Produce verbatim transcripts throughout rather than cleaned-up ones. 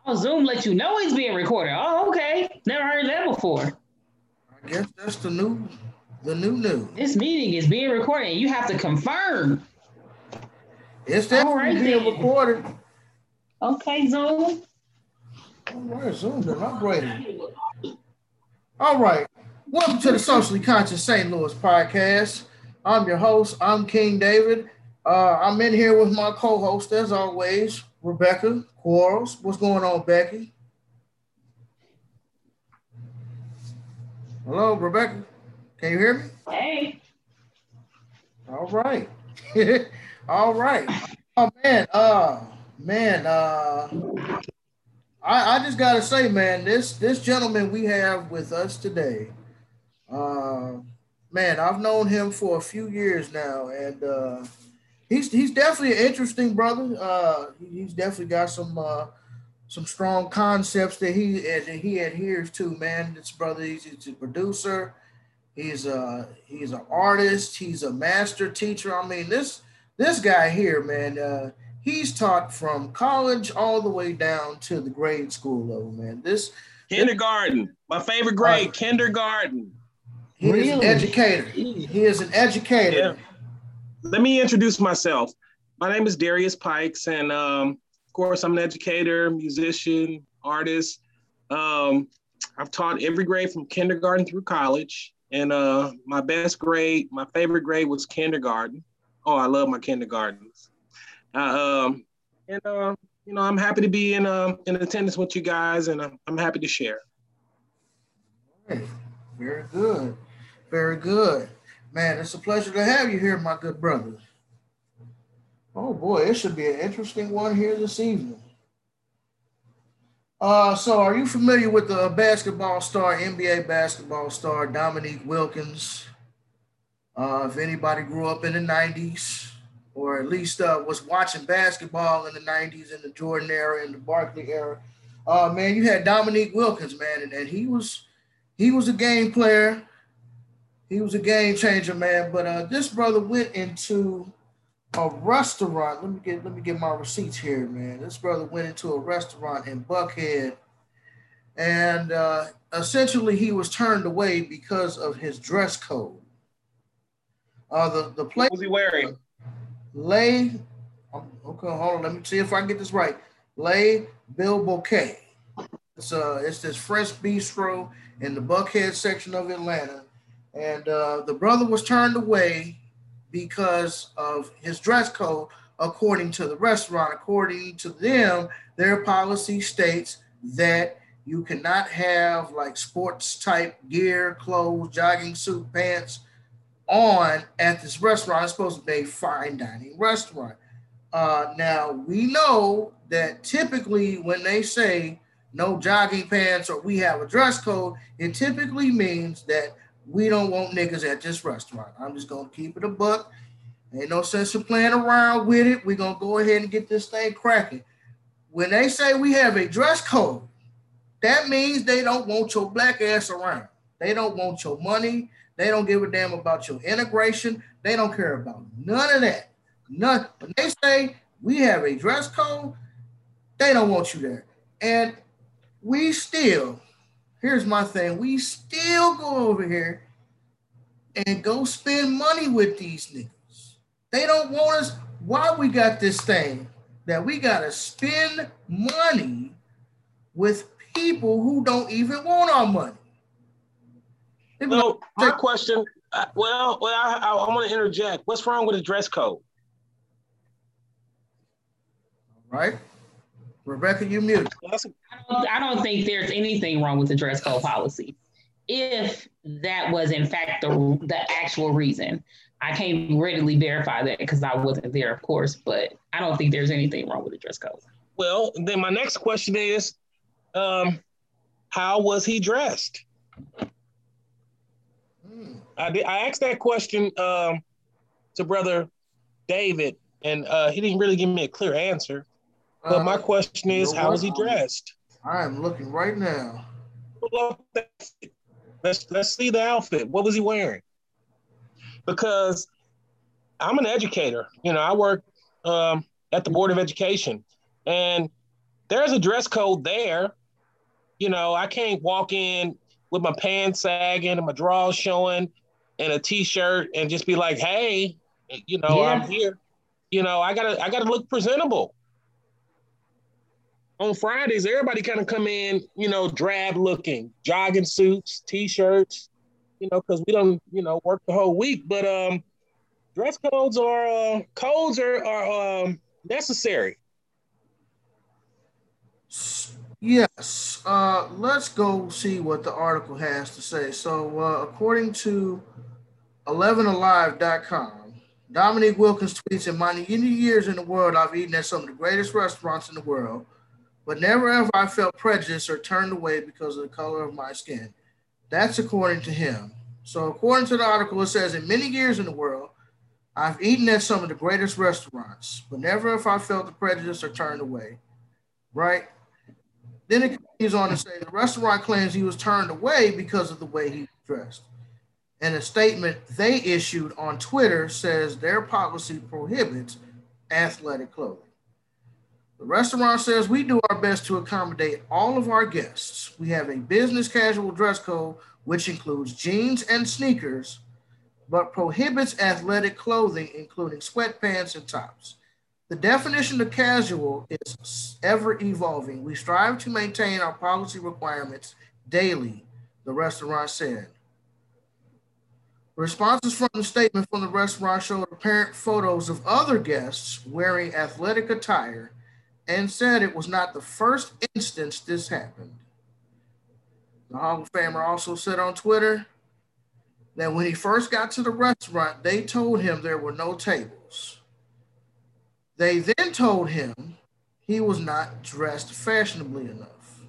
Oh, Zoom lets you know it's being recorded. Oh, okay. Never heard that before. I guess that's the new, the new new. This meeting is being recorded. You have to confirm. It's All definitely right being then. recorded. Okay, Zoom. All right, Zoom done upgraded. All right. Welcome to the Socially Conscious Saint Louis podcast. I'm your host. I'm King David. Uh, I'm in here with my co-host, as always, Rebecca Quarles. What's going on, Becky? Hello, Rebecca. Can you hear me? Hey. All right. All right. Oh man, uh man, uh I, I just gotta say, man, this this gentleman we have with us today, uh man, I've known him for a few years now, and uh he's he's definitely an interesting brother. Uh he's definitely got some uh some strong concepts that he that he adheres to, man. This brother, he's, he's a producer. He's a he's an artist. He's a master teacher. I mean, this this guy here, man. Uh, he's taught from college all the way down to the grade school level, man. This, this Kindergarten. My favorite uh, grade, kindergarten. he is an Really? educator. He is an educator. Yeah. Let me introduce myself. My name is Darius Pikes, and um, of course, I'm an educator, musician, artist. Um, I've taught every grade from kindergarten through college. And uh, my best grade, my favorite grade was kindergarten. Oh, I love my kindergartens. Uh, um, and uh, you know, I'm happy to be in um, in attendance with you guys, and I'm, I'm happy to share. Hey, very good, very good, man. It's a pleasure to have you here, my good brother. Oh boy, it should be an interesting one here this evening. Uh, so are you familiar with the basketball star, N B A basketball star Dominique Wilkins? Uh, if anybody grew up in the nineties, or at least uh, was watching basketball in the nineties, in the Jordan era, in the Barkley era, uh, man, you had Dominique Wilkins, man, and, and he was he was a game player. He was a game changer, man. But uh, this brother went into a restaurant. Let me get let me get my receipts here, man. This brother went into a restaurant in Buckhead, and uh, essentially he was turned away because of his dress code. Uh, the the place What was he wearing? lay. um, Okay, hold on. Let me see if I can get this right. Lay Bill Bouquet. It's uh, it's this Fresh Bistro in the Buckhead section of Atlanta, and uh, the brother was turned away because of his dress code, according to the restaurant. According to them, their policy states that you cannot have like sports type gear, clothes, jogging suit, pants on at this restaurant. It's supposed to be a fine dining restaurant. Uh, now, we know that typically when they say no jogging pants or we have a dress code, it typically means that we don't want niggas at this restaurant. I'm just going to keep it a buck. Ain't no sense of playing around with it. We're going to go ahead and get this thing cracking. When they say we have a dress code, that means they don't want your black ass around. They don't want your money. They don't give a damn about your integration. They don't care about none of that. None. When they say we have a dress code, they don't want you there. And we still, here's my thing, we still go over here and go spend money with these niggas. They don't want us. Why we got this thing that we gotta spend money with people who don't even want our money? Well, my question. Uh, well, well, I, I, I want to interject. What's wrong with a dress code? Right, Rebecca, you mute. I don't, I don't think there's anything wrong with the dress code policy. If that was in fact the the actual reason, I can't readily verify that because I wasn't there, of course. But I don't think there's anything wrong with the dress code. Well, then my next question is, um, how was he dressed? I did, I asked that question um, to Brother David, and uh, he didn't really give me a clear answer. But my Uh, question you is, know how what? was he dressed? I am looking right now. Let's let's see the outfit. What was he wearing? Because I'm an educator. You know, I work um, at the Board of Education, and there's a dress code there. You know, I can't walk in with my pants sagging and my drawers showing and a t-shirt and just be like, hey, you know, Yeah. I'm here. You know, I gotta I gotta look presentable. On Fridays, everybody kind of come in, you know, drab looking, jogging suits, t-shirts, you know, because we don't, you know, work the whole week. But um, dress codes are uh, codes are are um, necessary. Yes. Uh, let's go see what the article has to say. So, uh, according to eleven alive dot com, Dominique Wilkins tweets, in my many years in the world, I've eaten at some of the greatest restaurants in the world, but never have I felt prejudice or turned away because of the color of my skin. That's according to him. So, according to the article, it says, in many years in the world, I've eaten at some of the greatest restaurants, but never have I felt the prejudice or turned away. Right? Then it continues on to say the restaurant claims he was turned away because of the way he was dressed. And a statement they issued on Twitter says their policy prohibits athletic clothing. The restaurant says we do our best to accommodate all of our guests. We have a business casual dress code, which includes jeans and sneakers, but prohibits athletic clothing, including sweatpants and tops. The definition of casual is ever evolving. We strive to maintain our policy requirements daily, the restaurant said. Responses from the statement from the restaurant showed apparent photos of other guests wearing athletic attire and said it was not the first instance this happened. The Hall of Famer also said on Twitter that when he first got to the restaurant, they told him there were no tables. They then told him he was not dressed fashionably enough.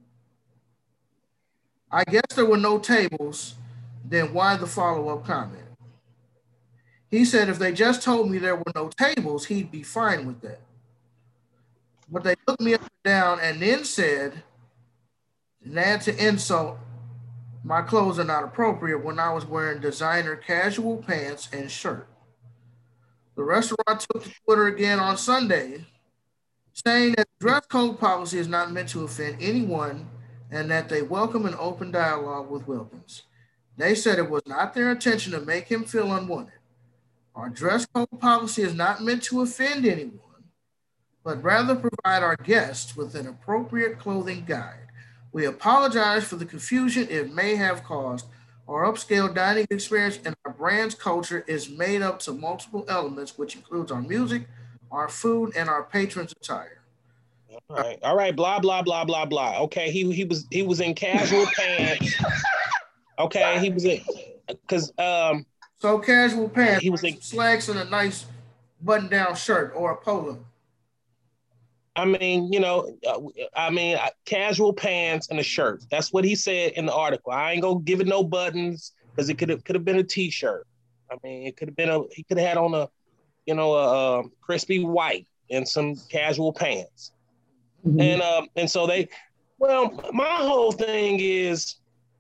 I guess there were no tables, then why the follow-up comment? He said if they just told me there were no tables, he'd be fine with that. But they looked me up and down and then said, and add to insult, my clothes are not appropriate when I was wearing designer casual pants and shirt. The restaurant took to Twitter again on Sunday, saying that the dress code policy is not meant to offend anyone and that they welcome an open dialogue with Wilkins. They said it was not their intention to make him feel unwanted. Our dress code policy is not meant to offend anyone, but rather provide our guests with an appropriate clothing guide. We apologize for the confusion it may have caused. Our upscale dining experience and our brand's culture is made up to multiple elements, which includes our music, our food, and our patrons' attire. All right, all right, blah blah blah blah blah. Okay, he he was he was in casual pants. Okay, he was in because um. So casual pants, he was like in slacks and a nice button-down shirt or a polo. I mean, you know, uh, I mean, uh, casual pants and a shirt. That's what he said in the article. I ain't gonna give it no buttons because it could have could have been a t-shirt. I mean, it could have been a he could have had on a, you know, a, a crispy white and some casual pants. Mm-hmm. And um and so they, well, my whole thing is,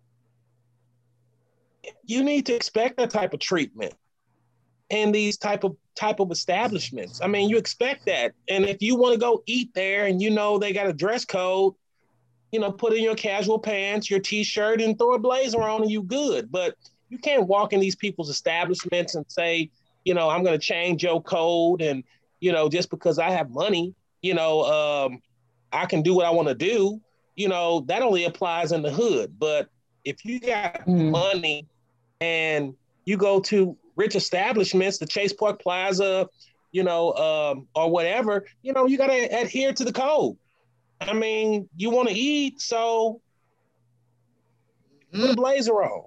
you need to expect that type of treatment in these type of type of establishments. I mean, you expect that. And if you want to go eat there and you know they got a dress code, you know, put in your casual pants, your t-shirt, and throw a blazer on and you good. But you can't walk in these people's establishments and say, you know, I'm going to change your code. And, you know, just because I have money, you know, um, I can do what I want to do. You know, that only applies in the hood. But if you got mm. money and you go to rich establishments, the Chase Park Plaza, you know, um, or whatever, you know, you got to adhere to the code. I mean, you want to eat, so put a blazer on.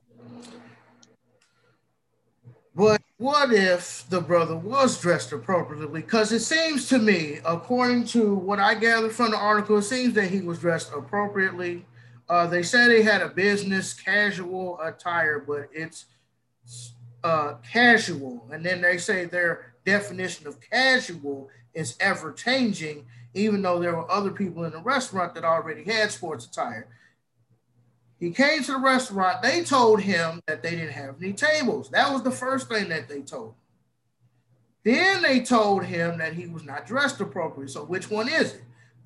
But what if the brother was dressed appropriately? Because it seems to me, according to what I gathered from the article, it seems that he was dressed appropriately. Uh, they said he had a business casual attire, but it's Uh, casual, and then they say their definition of casual is ever changing, even though there were other people in the restaurant that already had sports attire. He came to the restaurant, they told him that they didn't have any tables. That was the first thing that they told him. Then they told him that he was not dressed appropriately. So which one is it?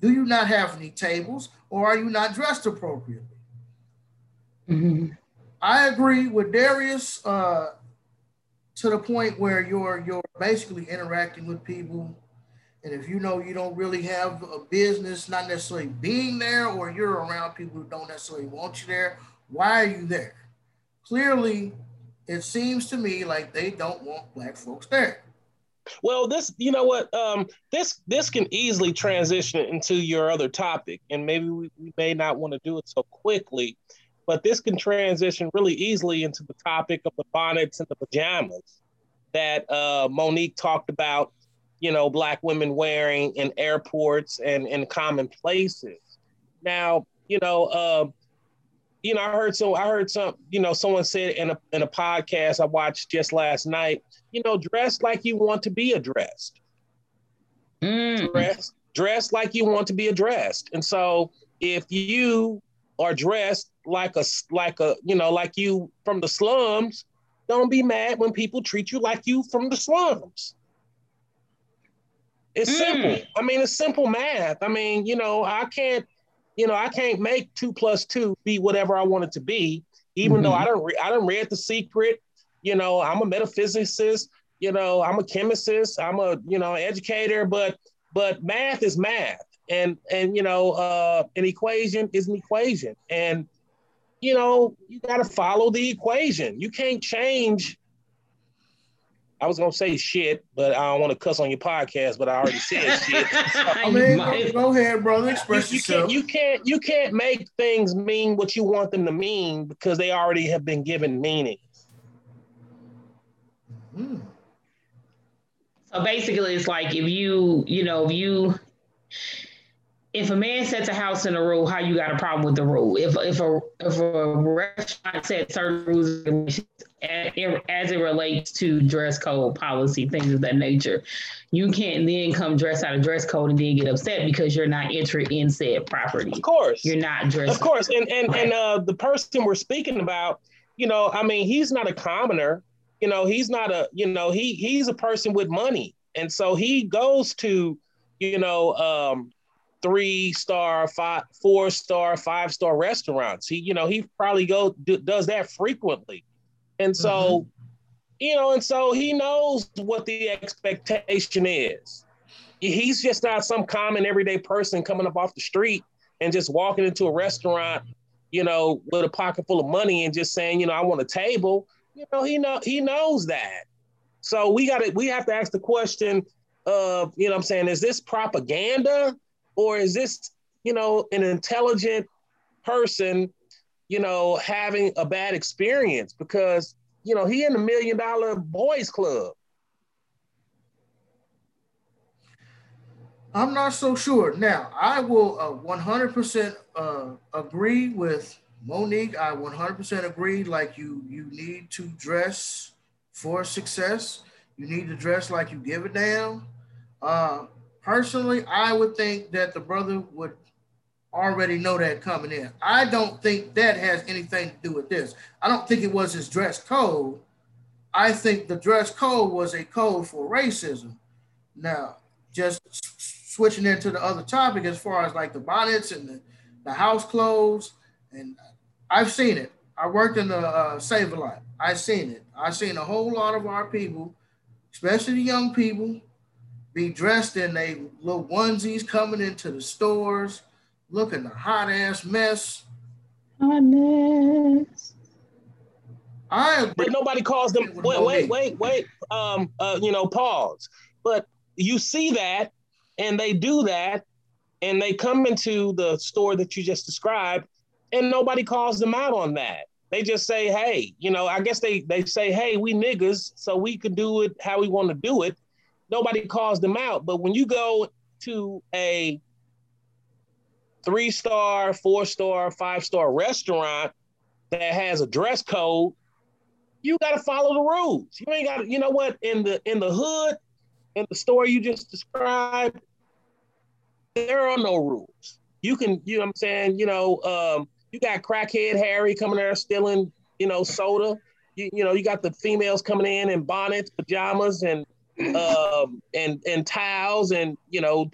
Do you not have any tables, or are you not dressed appropriately? Mm-hmm. I agree with Darius uh, to the point where you're you're basically interacting with people, and if you know you don't really have a business, not necessarily being there, or you're around people who don't necessarily want you there, why are you there? Clearly, it seems to me like they don't want Black folks there. Well, this, you know what, um, this this can easily transition into your other topic, and maybe we, we may not want to do it so quickly, but this can transition really easily into the topic of the bonnets and the pajamas that uh, Monique talked about, you know, Black women wearing in airports and in common places. Now, you know, uh, you know, I heard so I heard some, you know, someone said in a in a podcast I watched just last night, you know, dress like you want to be addressed. Mm. Dress, dress like you want to be addressed. And so if you are dressed like a like a, you know, like you from the slums, don't be mad when people treat you like you from the slums. It's mm. simple. I mean, it's simple math. I mean, you know, I can't You know, I can't make two plus two be whatever I want it to be, even mm-hmm. though I don't. Re- I don't read The Secret. You know, I'm a metaphysicist. You know, I'm a chemist. I'm a you know educator. But but math is math, and and you know, uh, an equation is an equation, and you know, you got to follow the equation. You can't change. I was gonna say shit, but I don't want to cuss on your podcast. But I already said shit. I mean, go, go ahead, brother. Express you, you yourself. Can't, you can't. You can't make things mean what you want them to mean because they already have been given meaning. Mm. So basically, it's like if you, you know, if you, if a man sets a house in a rule, how you got a problem with the rule? If if a if a restaurant sets certain rules as it relates to dress code policy, things of that nature, you can't then come dressed out of dress code and then get upset because you're not entering in said property. Of course, you're not dressed. Of course, and and right. and uh, the person we're speaking about, you know, I mean, he's not a commoner. You know, he's not a, you know, he he's a person with money, and so he goes to, you know. Um, three star, five, four star, five star restaurants. He, you know, he probably go do, does that frequently. And so, mm-hmm. you know, and so he knows what the expectation is. He's just not some common everyday person coming up off the street and just walking into a restaurant, you know, with a pocket full of money and just saying, you know, I want a table. You know, he know he knows that. So we got to, we have to ask the question of, you know what I'm saying, is this propaganda? Or is this, you know, an intelligent person, you know, having a bad experience? Because, you know, he in the Million Dollar Boys Club. I'm not so sure. Now, I will uh, one hundred percent uh, agree with Monique. I one hundred percent agree. Like you, you need to dress for success. You need to dress like you give a damn. Uh, Personally, I would think that the brother would already know that coming in. I don't think that has anything to do with this. I don't think it was his dress code. I think the dress code was a code for racism. Now, just switching into the other topic as far as like the bonnets and the, the house clothes, and I've seen it. I worked in the uh, Save-A-Lot. I've seen it. I've seen a whole lot of our people, especially the young people, be dressed in they little onesies coming into the stores, looking a hot ass mess. Hot mess. I agree. But nobody calls them. Wait, wait, wait, wait. Um, uh, you know, pause. But you see that, and they do that, and they come into the store that you just described, and nobody calls them out on that. They just say, "Hey, you know." I guess they they say, "Hey, we niggas, so we can do it how we want to do it." Nobody calls them out. But when you go to a three-star, four-star, five-star restaurant that has a dress code, you got to follow the rules. You ain't got to, you know what, in the in the hood, in the store you just described, there are no rules. You can, you know what I'm saying, you know, um, you got crackhead Harry coming there stealing, you know, soda. You, you know, you got the females coming in in bonnets, pajamas, and um, and and towels, and you know, to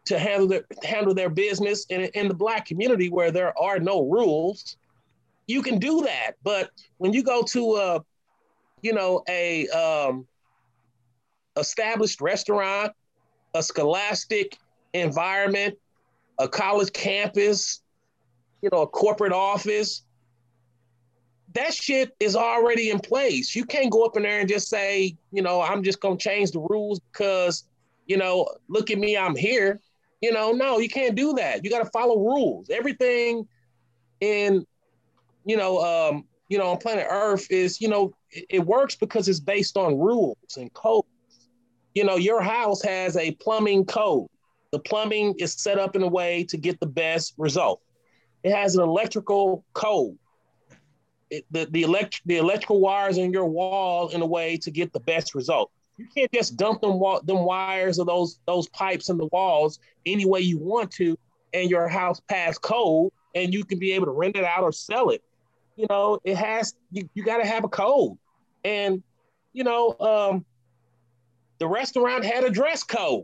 to handle their handle their business in, in the Black community where there are no rules, you can do that. But when you go to a, you know, a um, established restaurant, a scholastic environment, a college campus, you know, a corporate office, that shit is already in place. You can't go up in there and just say, you know, I'm just gonna change the rules because, you know, look at me, I'm here. You know, no, you can't do that. You got to follow rules. Everything in, you know, um, you know, on planet Earth is, you know, it, it works because it's based on rules and codes. You know, your house has a plumbing code. The plumbing is set up in a way to get the best result. It has an electrical code. It, the the elect the electrical wires in your wall in a way to get the best result. You can't just dump them them wires or those those pipes in the walls any way you want to, and your house pass code, and you can be able to rent it out or sell it. You know, it has you, you got to have a code, and you know, um, the restaurant had a dress code,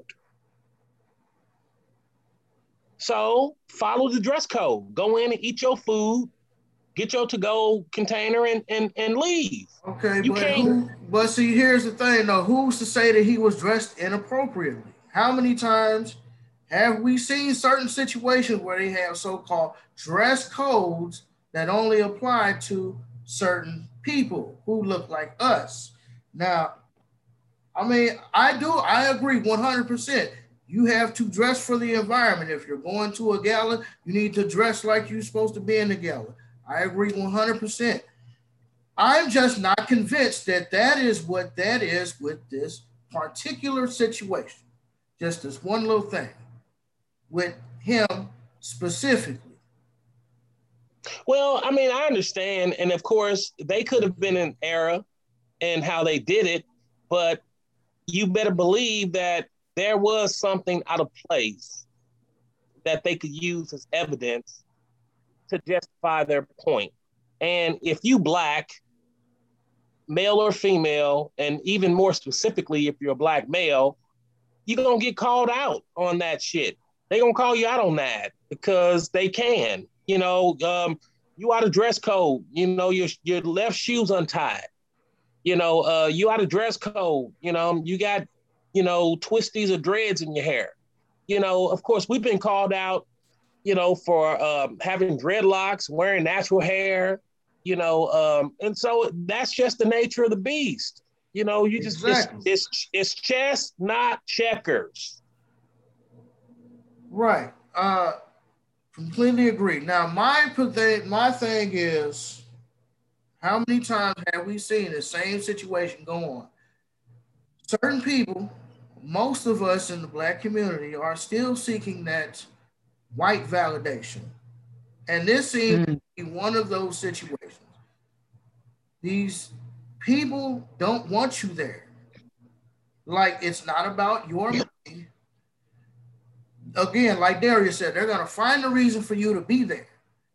so follow the dress code. Go in and eat your food. Get your to-go container and, and, and leave. Okay, you but can't. Who, but see, here's the thing, though. Who's to say that he was dressed inappropriately? How many times have we seen certain situations where they have so-called dress codes that only apply to certain people who look like us? Now, I mean, I do, I agree one hundred percent. You have to dress for the environment. If you're going to a gala, you need to dress like you're supposed to be in the gala. I agree one hundred percent. I'm just not convinced that that is what that is with this particular situation. Just this one little thing with him specifically. Well, I mean, I understand. And of course, they could have been an era in how they did it, but you better believe that there was something out of place that they could use as evidence to justify their point. And if you Black, male or female, and even more specifically, if you're a Black male, you're gonna get called out on that shit. They're gonna call you out on that because they can. You know, um, you out of dress code, you know, your, your left shoe's untied. You know, uh, you out of dress code, you know, you got, you know, twisties or dreads in your hair. You know, of course, we've been called out, you know, for um, having dreadlocks, wearing natural hair, you know, um, and so that's just the nature of the beast. You know, you just, exactly. it's, it's, it's chess, not checkers. Right. Uh, completely agree. Now, my, my thing is, how many times have we seen the same situation go on? Certain people, most of us in the Black community are still seeking that white validation. And this seems mm. to be one of those situations. These people don't want you there. Like, it's not about your money. Again, like Darius said, they're going to find a reason for you to be there.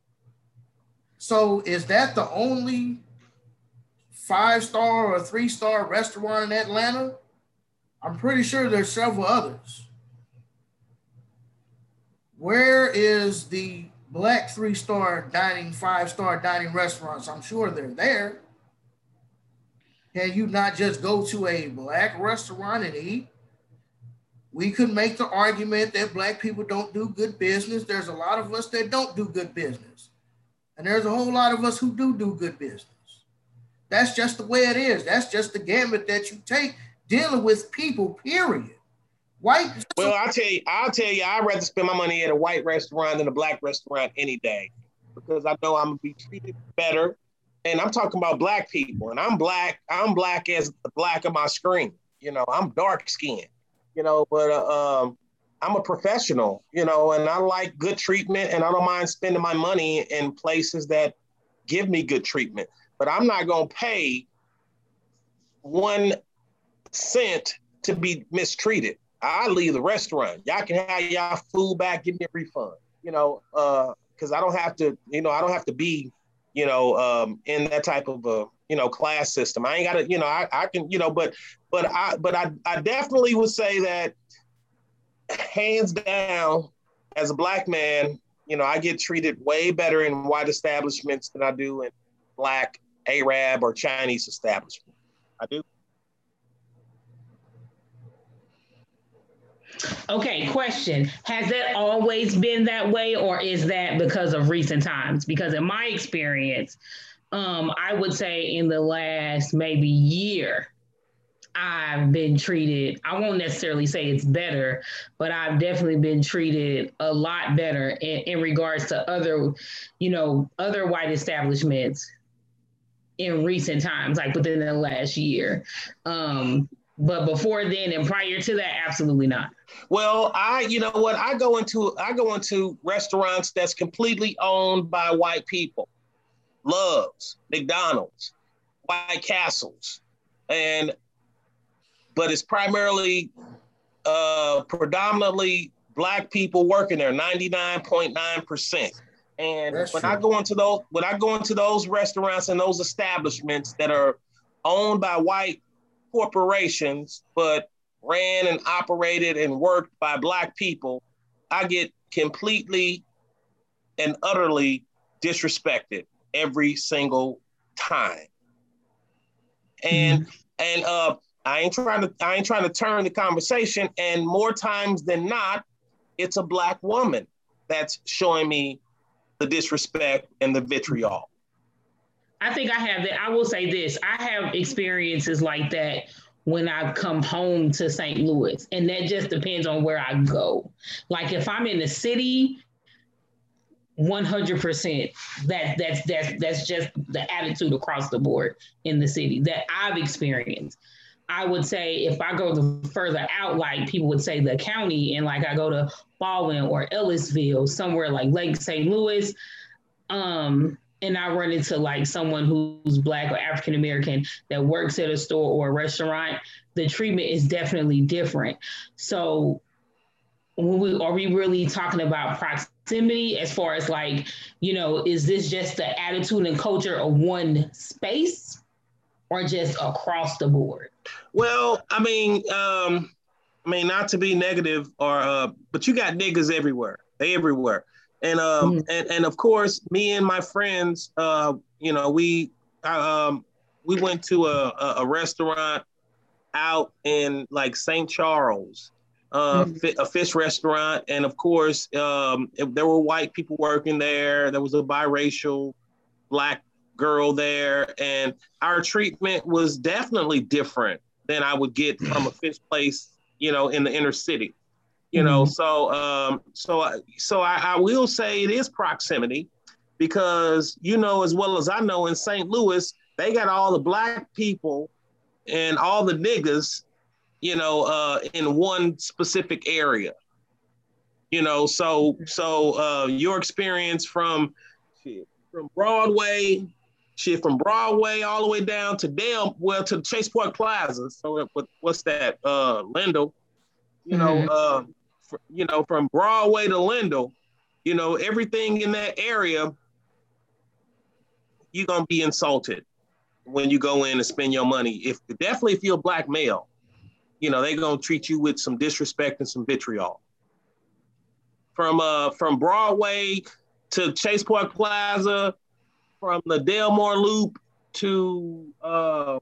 So is that the only five-star or three-star restaurant in Atlanta? I'm pretty sure there's several others. Where is the Black three-star dining, five-star dining restaurants? I'm sure they're there. Can you not just go to a Black restaurant and eat? We could make the argument that Black people don't do good business. There's a lot of us that don't do good business. And there's a whole lot of us who do do good business. That's just the way it is. That's just the gambit that you take dealing with people, period. White. Well, I'll tell you, I'll tell you, I'd rather spend my money at a white restaurant than a Black restaurant any day, because I know I'm gonna be treated better. And I'm talking about Black people, and I'm Black. I'm Black as the Black of my screen. You know, I'm dark skinned. You know, but uh, um, I'm a professional. You know, and I like good treatment, and I don't mind spending my money in places that give me good treatment. But I'm not gonna pay one cent to be mistreated. I leave the restaurant. Y'all can have y'all food back, give me a refund. You know, uh, because I don't have to, you know, I don't have to be, you know, um, in that type of a, you know, class system. I ain't got to, you know, I, I can, you know, but, but I, but I, I definitely would say that hands down, as a black man, you know, I get treated way better in white establishments than I do in black, Arab, or Chinese establishments. I do. Okay, question. Has that always been that way, or is that because of recent times? Because in my experience, um, I would say in the last maybe year, I've been treated, I won't necessarily say it's better, but I've definitely been treated a lot better in, in regards to other, you know, other white establishments in recent times, like within the last year. Um, but before then and prior to that, absolutely not. Well, I, you know what, I go into I go into restaurants that's completely owned by white people. Love's, McDonald's, White Castles, and but it's primarily uh, predominantly black people working there, ninety-nine point nine percent. And That's when true. I go into those when I go into those restaurants and those establishments that are owned by white corporations, but ran and operated and worked by black people, I get completely and utterly disrespected every single time. And mm-hmm. and uh, I ain't trying to I ain't trying to turn the conversation. And more times than not, it's a black woman that's showing me the disrespect and the vitriol. I think I have that. I will say this: I have experiences like that when I come home to Saint Louis, and that just depends on where I go. Like if I'm in the city, one hundred percent that that's that's that's just the attitude across the board in the city that I've experienced. I would say if I go the further out, like people would say the county, and like I go to Baldwin or Ellisville, somewhere like Lake Saint Louis, um, and I run into like someone who's black or African American that works at a store or a restaurant, the treatment is definitely different. So when we, are we really talking about proximity as far as like, you know, is this just the attitude and culture of one space or just across the board? Well, I mean, um, I mean, not to be negative or, uh, but you got niggas everywhere. They everywhere. And, um, mm-hmm. and, and of course, me and my friends, uh, you know, we, um, we went to a, a, a restaurant out in like Saint Charles, uh, mm-hmm. a fish restaurant. And of course, um, there were white people working there. There was a biracial black girl there. And our treatment was definitely different than I would get from a fish place, you know, in the inner city. You know, mm-hmm. so um, so so I, I will say it is proximity, because you know as well as I know in Saint Louis they got all the black people and all the niggas, you know, uh, in one specific area. You know, so so uh, your experience from from Broadway, shit from Broadway all the way down to Dale, well to Chase Park Plaza. So what, what's that? Uh, Lindell. You know. Mm-hmm. Uh, you know, from Broadway to Lindell, you know, everything in that area, you're going to be insulted when you go in and spend your money. If definitely if you're a black male, you know, they're going to treat you with some disrespect and some vitriol. From uh from Broadway to Chase Park Plaza, from the Delmore Loop to uh,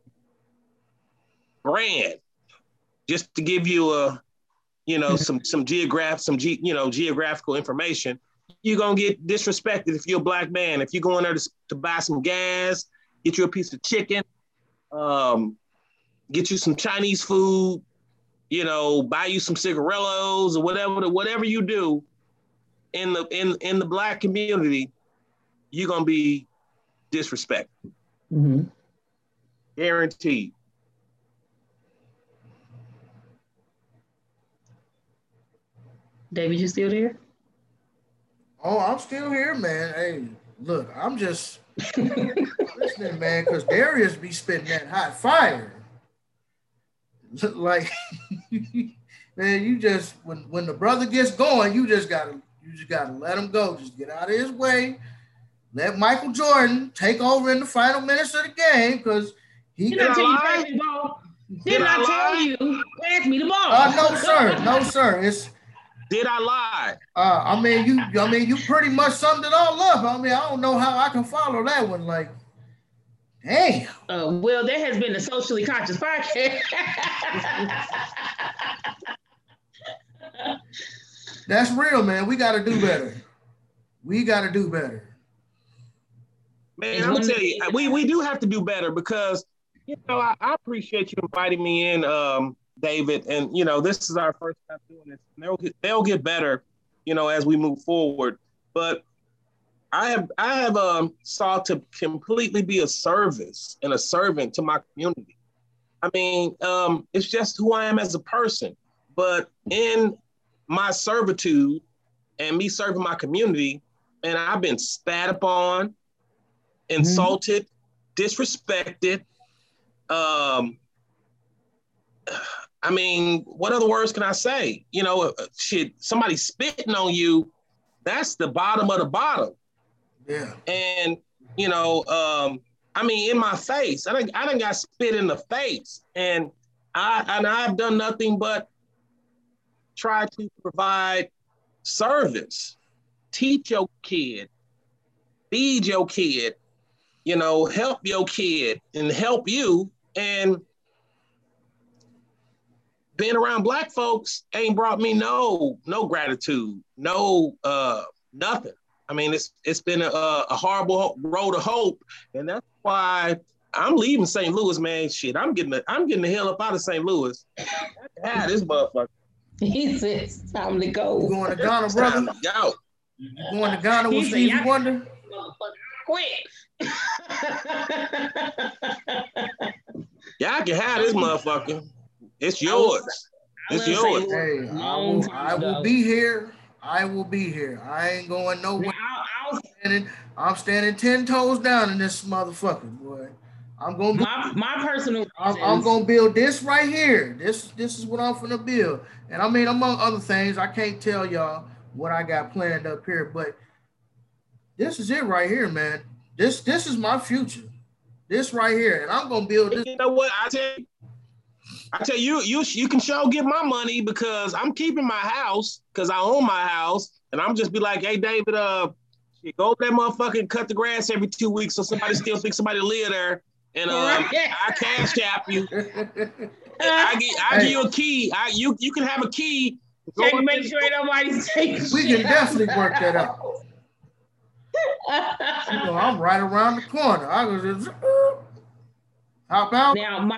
Grand, just to give you a you know, some some geograph, some ge, you know, geographical information, you're gonna get disrespected if you're a black man. If you go in there to, to buy some gas, get you a piece of chicken, um, get you some Chinese food, you know, buy you some cigarillos or whatever, whatever you do in the in in the black community, you're gonna be disrespected. Mm-hmm. Guaranteed. David, you still there? Oh, I'm still here, man. Hey, look, I'm just listening, man, because Darius be spitting that hot fire. Like, man, you just when when the brother gets going, you just gotta you just gotta let him go. Just get out of his way. Let Michael Jordan take over in the final minutes of the game, because he Did I tell you pass me the ball? Didn't I, I tell you pass me the ball? Uh, no, sir. No, sir. It's Did I lie? Uh, I mean, you. I mean, you pretty much summed it all up. I mean, I don't know how I can follow that one. Like, damn. Uh, well, there has been the Socially Conscious podcast. That's real, man. We got to do better. We got to do better. Man, I'm gonna tell you, we, we do have to do better because, you know, I, I appreciate you inviting me in, um, David. And, you know, this is our first time doing this. They'll get, they'll get better, you know, as we move forward. But I have I have um, sought to completely be a service and a servant to my community. I mean, um, it's just who I am as a person. But in my servitude and me serving my community, and I've been spat upon, insulted, disrespected. Um, I mean, what other words can I say? You know, shit, somebody spitting on you, that's the bottom of the bottom. Yeah. And, you know, um, I mean, in my face, I done, I done got spit in the face. And, I, and I've done nothing but try to provide service, teach your kid, feed your kid, you know, help your kid and help you. And being around Black folks ain't brought me no, no gratitude, no, uh, nothing. I mean, it's it's been a, a horrible road of hope. And that's why I'm leaving Saint Louis, man. Shit, I'm getting the, I'm getting the hell up out of Saint Louis. Ah, this motherfucker. He said, it's time to go. You going to Ghana, brother? Time to go. You going to Ghana with He said, Stevie "Y'all Wonder? Quit. Y'all can have this motherfucker. It's yours. It's yours. Hey, I will, I will be here. I will be here. I ain't going nowhere. I'm standing, I'm standing ten toes down in this motherfucker, boy. I'm gonna my my personal. I'm, I'm gonna build this right here. This this is what I'm gonna build. And I mean, among other things, I can't tell y'all what I got planned up here, but this is it right here, man. This this is my future. This right here, and I'm gonna build this. You know what? I tell you, I tell you, you you can sure get my money because I'm keeping my house because I own my house, and I'm just be like, hey, David, uh, go over that motherfucker and cut the grass every two weeks so somebody still thinks somebody live there, and um, I cash tap you. I get I give you a key. I you you can have a key. Check, make sure ain't nobody takes. We can definitely work that out. You know, I'm right around the corner. I was just uh, hop out. Now my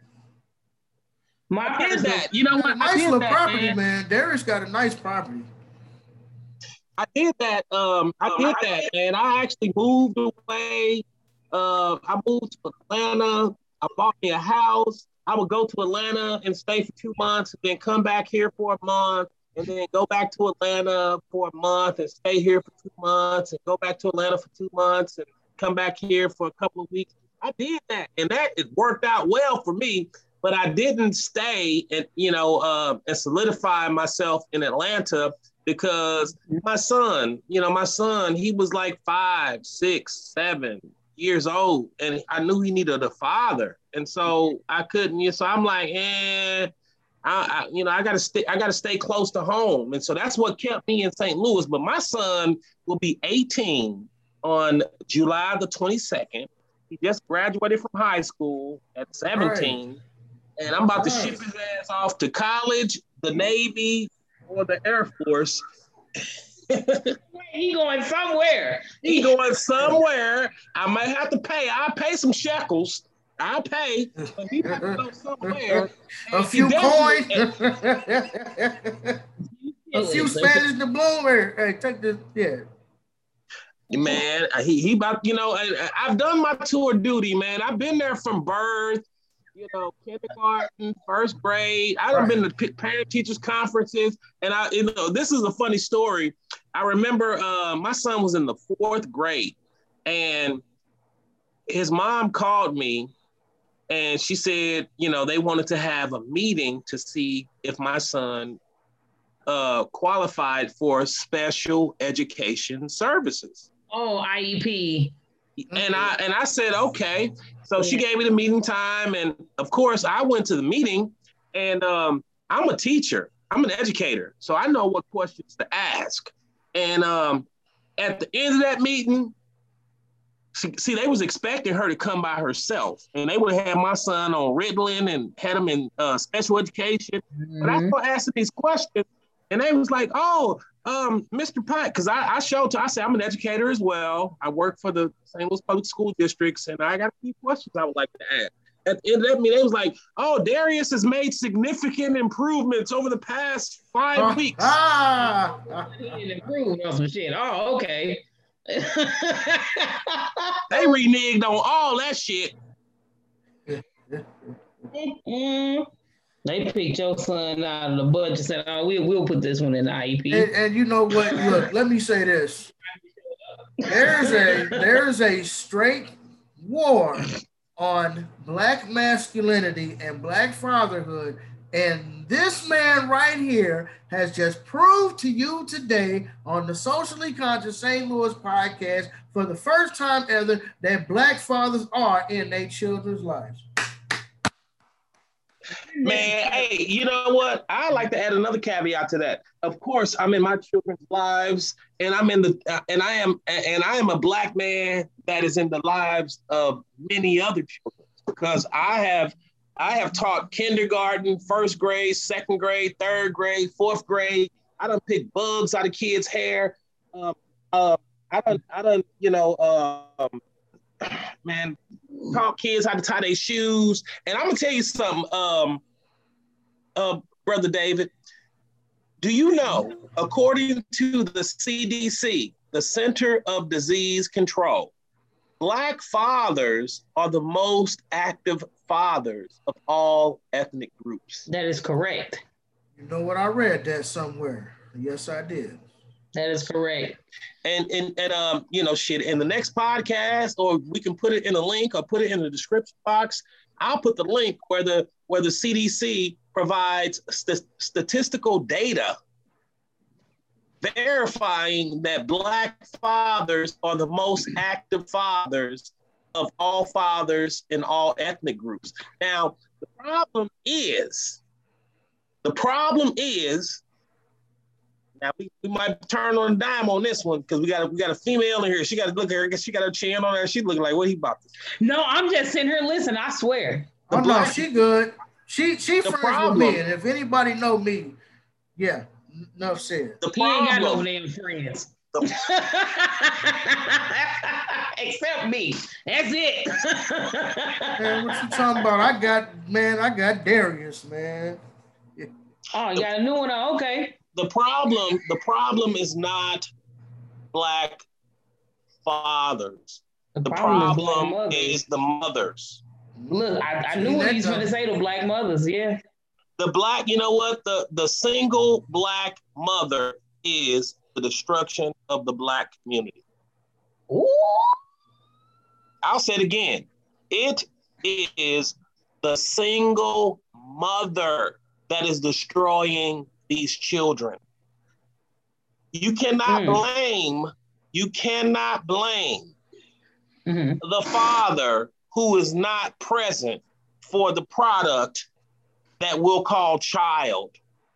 my I did that. You know what? Nice I did little that, property, man. man. Darius got a nice property. I did that. Um, I did that, and I actually moved away. Uh, I moved to Atlanta. I bought me a house. I would go to Atlanta and stay for two months, and then come back here for a month, and then go back to Atlanta for a month and stay here for two months, and go back to Atlanta for two months and come back here for a couple of weeks. I did that, and that it worked out well for me. But I didn't stay and you know uh, and solidify myself in Atlanta because my son, you know, my son, he was like five, six, seven years old, and I knew he needed a father, and so I couldn't. You know, so I'm like, eh, I, I, you know, I gotta stay. I gotta stay close to home, and so that's what kept me in Saint Louis. But my son will be eighteen on July the twenty-second. He just graduated from high school at seventeen. Right. And I'm about to ship his ass off to college, the Navy, or the Air Force. He going somewhere. He going somewhere. I might have to pay. I'll pay some shekels. I'll pay. But he has to go somewhere. A few coins. A few Spanish doubloons. Hey, take this. Yeah. Man, he, he about, you know, I, I've done my tour duty, man. I've been there from birth. You know, kindergarten, first grade. I've right. been to parent teachers conferences, and I, you know, this is a funny story. I remember uh, my son was in the fourth grade, and his mom called me, and she said, you know, they wanted to have a meeting to see if my son uh, qualified for special education services. Oh, I E P. And I and I said, okay. So she gave me the meeting time. And of course, I went to the meeting, and um, I'm a teacher. I'm an educator, so I know what questions to ask. And um, at the end of that meeting, see, see, they was expecting her to come by herself, and they would have had my son on Ritalin and had him in uh, special education. Mm-hmm. But I started asking these questions, and they was like, "Oh, um, Mister Pike," because I, I showed to, I said, I'm an educator as well. I work for the Saint Louis Public School Districts, and I got a few questions I would like to ask. At the end of that meeting, they was like, "Oh, Darius has made significant improvements over the past five uh, weeks." Ah, he improved on some shit. Oh, okay. They reneged on all that shit. Mm-hmm. They picked your son out of the budget and said, "Oh, we, we'll put this one in the I E P." And, and you know what? Look, let me say this. There's a there's a straight war on Black masculinity and Black fatherhood. And this man right here has just proved to you today on the Socially Conscious Saint Louis podcast for the first time ever that Black fathers are in their children's lives. Man, hey, you know what? I like to add another caveat to that. Of course, I'm in my children's lives, and I'm in the, uh, and I am, and I am a Black man that is in the lives of many other children, because I have, I have taught kindergarten, first grade, second grade, third grade, fourth grade. I done picked bugs out of kids' hair. Um, uh, I done, I done, you know, um, man, taught kids how to tie their shoes. And I'm gonna tell you something, um, uh, Brother David. Do you know, according to the C D C, the Center of Disease Control, Black fathers are the most active fathers of all ethnic groups? That is correct. You know what? I read that somewhere. Yes, I did. That is correct. And and and um, you know, shit, in the next podcast, or we can put it in a link or put it in the description box. I'll put the link where the where the C D C provides st- statistical data verifying that Black fathers are the most active fathers of all fathers in all ethnic groups. Now, the problem is, the problem is, now we, we might turn on a dime on this one, because we got a, we got a female in here. She got to look at her. I guess she got her chin on her. She's looking like, what he about to say? No, I'm just sitting here listening. I swear. The oh black, no, she good. She she friends problem, with me, and if anybody know me, yeah, enough said. The he ain't got no damn friends. The, except me. That's it. Man, what you talking about? I got man. I got Darius, man. Yeah. Oh, you got a new one? Okay. The problem, the problem is not Black fathers. The, the problem, problem is, is the mothers. Look, I, I knew what he was going to say, the Black mothers, yeah. The Black, you know what? The, the single Black mother is the destruction of the Black community. Ooh. I'll say it again. It is the single mother that is destroying these children. You cannot mm. blame, you cannot blame mm-hmm. the father who is not present for the product that we'll call child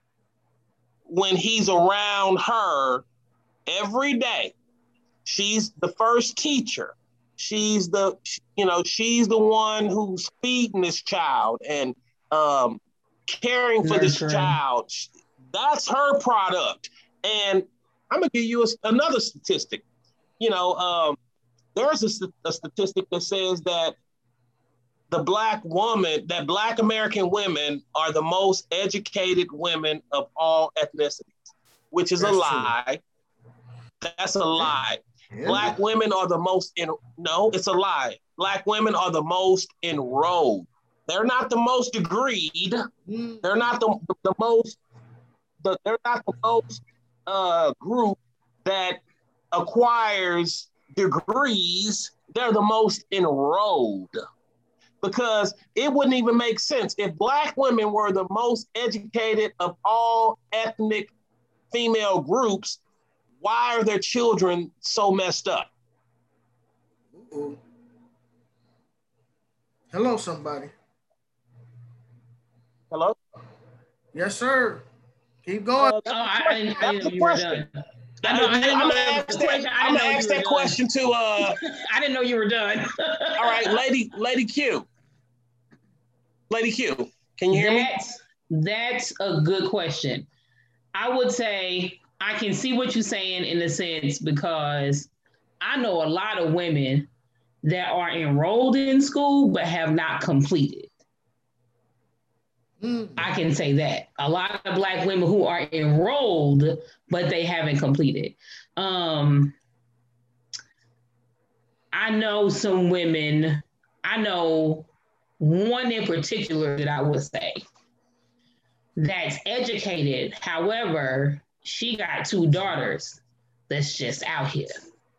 when he's around her every day. She's the first teacher. She's the, you know, she's the one who's feeding this child and um, caring for this child. That's her product. And I'm gonna give you a, another statistic. You know, um, there's a, a statistic that says that the Black woman, that Black American women are the most educated women of all ethnicities, which is That's a lie. True. That's a lie. Yeah. Black women are the most, in, no, it's a lie. Black women are the most enrolled. They're not the most degreed. Mm. They're not the, the, the most, the, they're not the most uh, group that acquires degrees. They're the most enrolled. Because it wouldn't even make sense. If Black women were the most educated of all ethnic female groups, why are their children so messed up? Uh-oh. Hello, somebody. Hello? Yes, sir. Keep going. Uh, Oh, I, I didn't, I didn't know you were done. I I know, I didn't know I'm that gonna was ask the question. that, I I'm didn't gonna know ask you were that done. question to uh I didn't know you were done. all right, lady, lady Q. Lady Q, can you hear me? That's that's a good question. I would say I can see what you're saying in a sense because I know a lot of women that are enrolled in school but have not completed. Mm. I can say that. A lot of Black women who are enrolled but they haven't completed. Um, I know some women, I know one in particular that I would say that's educated. However, she got two daughters that's just out here.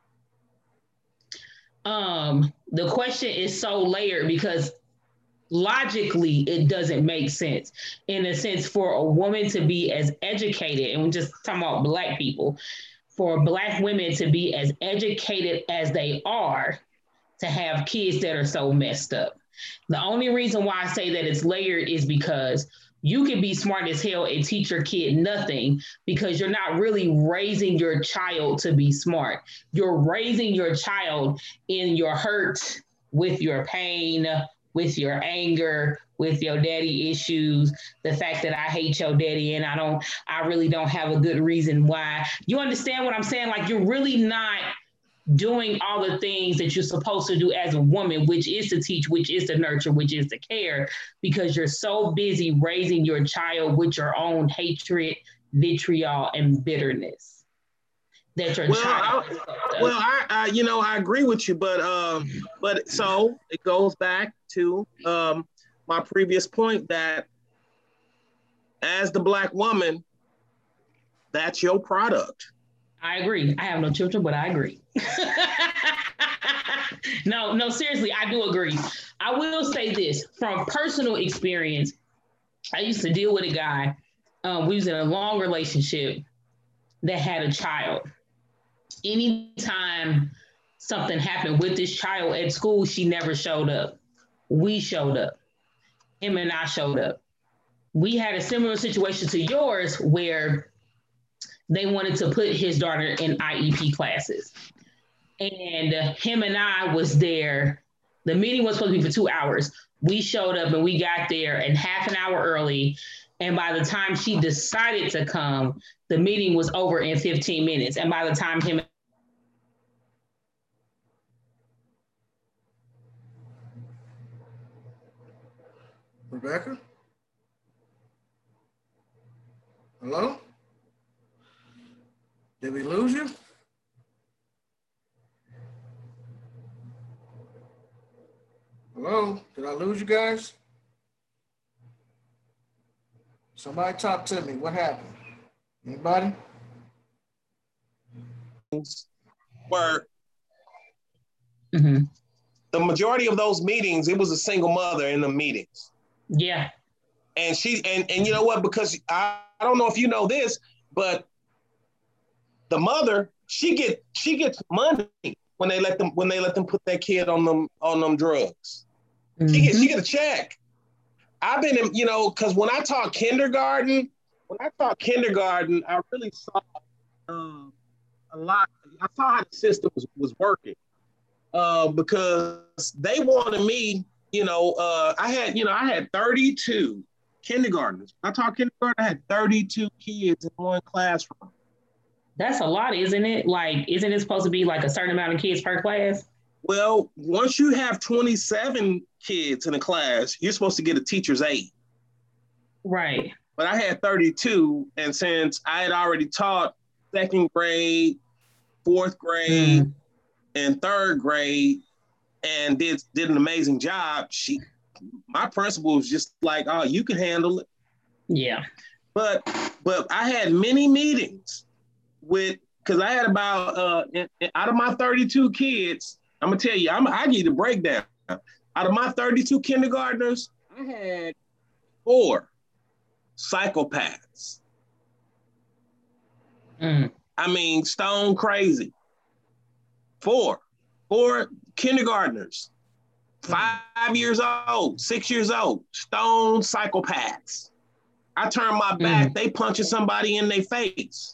Um, the question is so layered because logically it doesn't make sense. In a sense, for a woman to be as educated, and we're just talking about Black people, for Black women to be as educated as they are, to have kids that are so messed up. The only reason why I say that it's layered is because you can be smart as hell and teach your kid nothing because you're not really raising your child to be smart. You're raising your child in your hurt, with your pain, with your anger, with your daddy issues, the fact that I hate your daddy and I don't, I really don't have a good reason why. You understand what I'm saying? Like you're really not doing all the things that you're supposed to do as a woman, which is to teach, which is to nurture, which is to care, because you're so busy raising your child with your own hatred, vitriol, and bitterness that your Well, child. I, well, I, I, you know, I agree with you, but, um, but so it goes back to um, my previous point that as the Black woman, that's your product. I agree. I have no children, but I agree. no, no, seriously, I do agree. I will say this from personal experience. I used to deal with a guy. Um, we was in a long relationship that had a child. Anytime something happened with this child at school, she never showed up. We showed up. Him and I showed up. We had a similar situation to yours where they wanted to put his daughter in I E P classes. And uh, him and I was there. The meeting was supposed to be for two hours. We showed up and we got there and half an hour early. And by the time she decided to come, the meeting was over in fifteen minutes. And by the time him Rebecca? Hello? Did we lose you? Hello? Did I lose you guys? Somebody talk to me. What happened? Anybody? Where mm-hmm. the majority of those meetings, it was a single mother in the meetings. Yeah. And she, and, and you know what, because I, I don't know if you know this, but the mother, she get she gets money when they let them when they let them put their kid on them on them drugs. Mm-hmm. She get she get a check. I've been in, you know, because when I taught kindergarten, when I taught kindergarten, I really saw um, a lot. I saw how the system was, was working uh, because they wanted me, you know, uh, I had, you know, I had thirty-two kindergartners. I taught kindergarten, I had thirty-two kids in one classroom. That's a lot, isn't it? Like, isn't it supposed to be like a certain amount of kids per class? Well, once you have twenty-seven kids in a class, you're supposed to get a teacher's aide. Right. But I had thirty-two, and since I had already taught second grade, fourth grade, mm. and third grade, and did did an amazing job, she, my principal was just like, "Oh, you can handle it." Yeah. But but I had many meetings with, because I had about uh, in, in, out of my thirty-two kids, I'm gonna tell you, I'm, I give you the breakdown. Out of my thirty-two kindergartners, I had four psychopaths. Mm. I mean, stone crazy. Four, four kindergartners, five years old, six years old, stone psychopaths. I turn my back, mm. they punching somebody in their face.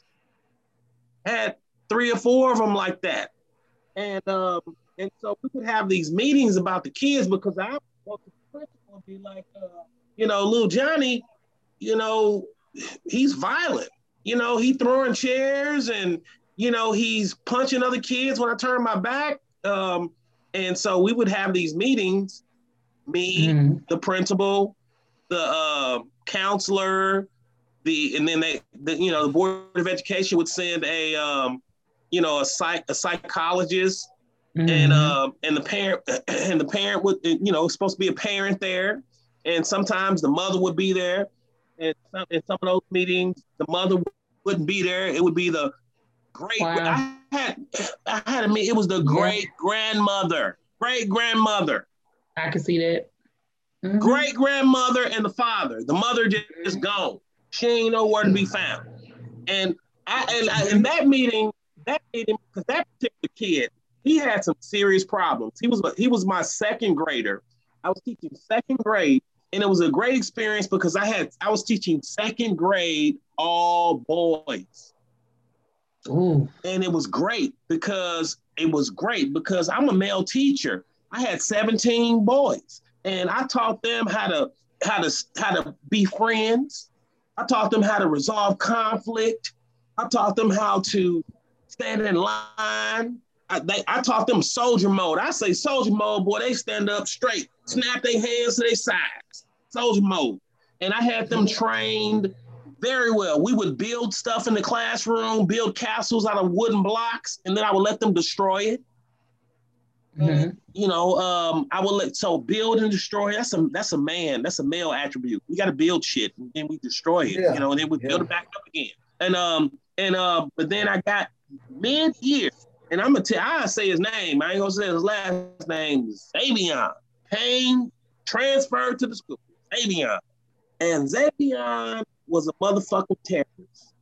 Had three or four of them like that. And um, and so we could have these meetings about the kids because I want the principal be like, uh, you know, little Johnny, you know, he's violent. You know, he throwing chairs and, you know, he's punching other kids when I turn my back. Um, and so we would have these meetings, me, mm. the principal, the uh, counselor, the and then they, the, you know, the Board of Education would send a, um, you know, a psych a psychologist, mm-hmm. and um, and the parent and the parent would, you know, supposed to be a parent there, and sometimes the mother would be there, and some, in some of those meetings the mother wouldn't be there. It would be the great. Wow. I had I had a meet. It was the great grandmother, great grandmother. I could see that. Mm-hmm. Great grandmother and the father. The mother just, just gone. She ain't nowhere to be found. And I and I, in that meeting, that meeting, because that particular kid, he had some serious problems. He was he was my second grader. I was teaching second grade, and it was a great experience because I had I was teaching second grade all boys. Ooh. And it was great because it was great because I'm a male teacher. I had seventeen boys, and I taught them how to how to how to be friends. I taught them how to resolve conflict. I taught them how to stand in line. I, they, I taught them soldier mode. I say soldier mode, boy, they stand up straight, snap their hands to their sides, soldier mode. And I had them trained very well. We would build stuff in the classroom, build castles out of wooden blocks, and then I would let them destroy it. Mm-hmm. And, you know, um, I will let so build and destroy. That's a that's a man. That's a male attribute. We got to build shit and then we destroy it. Yeah. You know, and then we yeah. build it back up again. And um and uh, but then I got mid year, and I'm gonna tell. I say his name. I ain't gonna say his last name. Xavion Payne transferred to the school. Xavion, and Xavion was a motherfucking terrorist.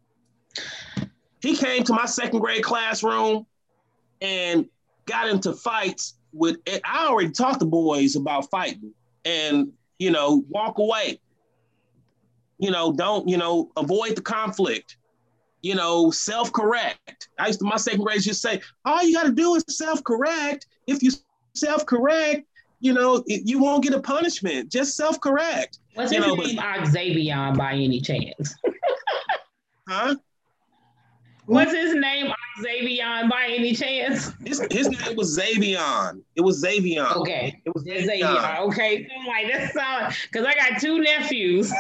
He came to my second grade classroom and got into fights with, I already taught the boys about fighting and, you know, walk away. You know, don't, you know, avoid the conflict. You know, self-correct. I used to, my second graders just say, all you got to do is self-correct. If you self-correct, you know, you won't get a punishment. Just self-correct. What's you his know, name, Xavion, by any chance? Huh? What's his name, Xavion, by any chance? His, his name was Xavion. It was Xavion. Okay. It was Xavion. Xavion. Okay. So I'm like, that sound, because I got two nephews.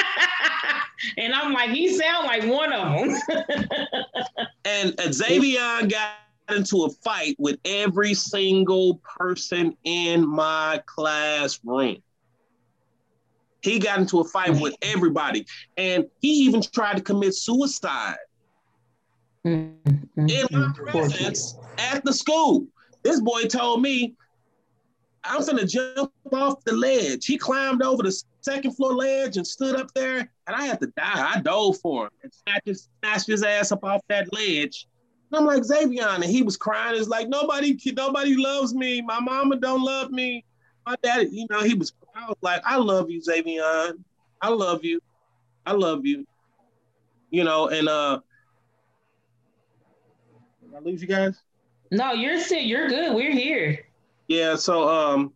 And I'm like, he sound like one of them. And Xavion got into a fight with every single person in my classroom. He got into a fight with everybody. And he even tried to commit suicide. Mm-hmm. In my presence at the school. This boy told me, I'm finna jump off the ledge. He climbed over the second floor ledge and stood up there, and I had to die. I dove for him and snatched his, snatched his ass up off that ledge. And I'm like, Xavion, and he was crying. It's like, nobody, nobody loves me. My mama don't love me. My daddy, you know, he was, I was like, I love you, Xavion. I love you. I love you. You know, and uh, did I lose you guys? No, you're sick. You're good. We're here. Yeah. So, um,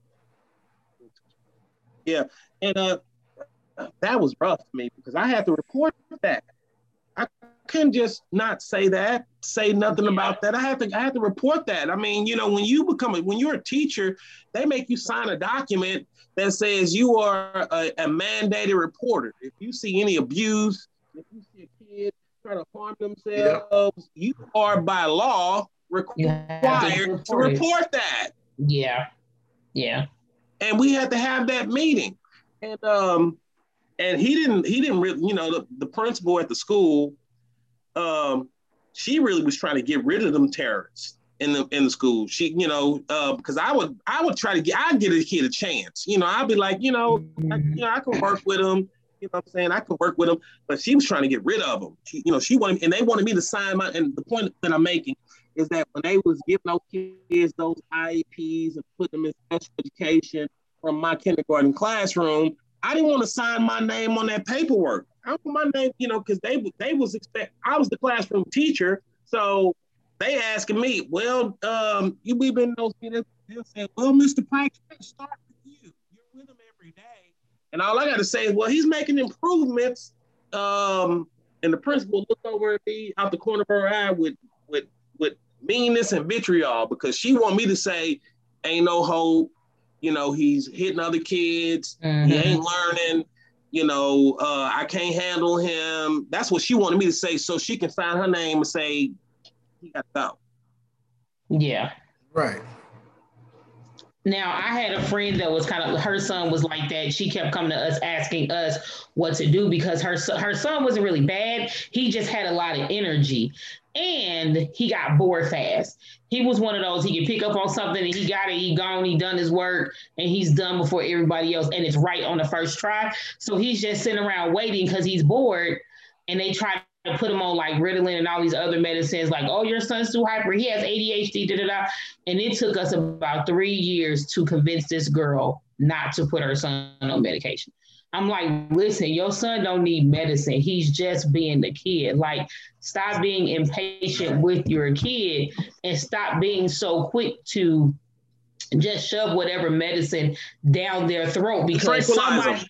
yeah, and uh, that was rough for me because I had to report that. I couldn't just not say that, say nothing yeah. about that. I had to, I had to report that. I mean, you know, when you become a, when you're a teacher, they make you sign a document that says you are a, a mandated reporter. If you see any abuse, if you see a kid try to harm themselves, yeah. you are by law required to report, to report that. Yeah, yeah. And we had to have that meeting, and um, and he didn't, he didn't really, you know, the, the principal at the school, um, she really was trying to get rid of them terrorists in the in the school. She, you know, uh, because I would, I would try to get, I'd give a kid a chance. You know, I'd be like, you know, mm-hmm. I, you know, I can work with him. You know what I'm saying? I could work with them, but she was trying to get rid of them. She, you know, she wanted, and they wanted me to sign my, and the point that I'm making is that when they was giving those kids those I E Ps and putting them in special education from my kindergarten classroom, I didn't want to sign my name on that paperwork. I want my name, you know, because they they was expect I was the classroom teacher, so they asking me, well, um, you we been those kids. They'll say, well, Mister Pike, start with you. You're with him every day, and all I got to say is, well, he's making improvements. Um, and the principal looked over at me out the corner of her eye with with with meanness and vitriol because she want me to say, ain't no hope. You know, he's hitting other kids. Mm-hmm. He ain't learning. You know, uh, I can't handle him. That's what she wanted me to say so she can sign her name and say, he got to go. Yeah. Right. Now, I had a friend that was kind of, her son was like that. She kept coming to us asking us what to do because her, her son wasn't really bad. He just had a lot of energy and he got bored fast. He was one of those, he could pick up on something and he got it, he gone, he done his work and he's done before everybody else and it's right on the first try. So he's just sitting around waiting because he's bored and they try to put him on like Ritalin and all these other medicines like, oh, your son's too hyper, he has A D H D, da da da. And it took us about three years to convince this girl not to put her son on medication. I'm like, listen, your son don't need medicine. He's just being the kid. Like, stop being impatient with your kid and stop being so quick to just shove whatever medicine down their throat because somebody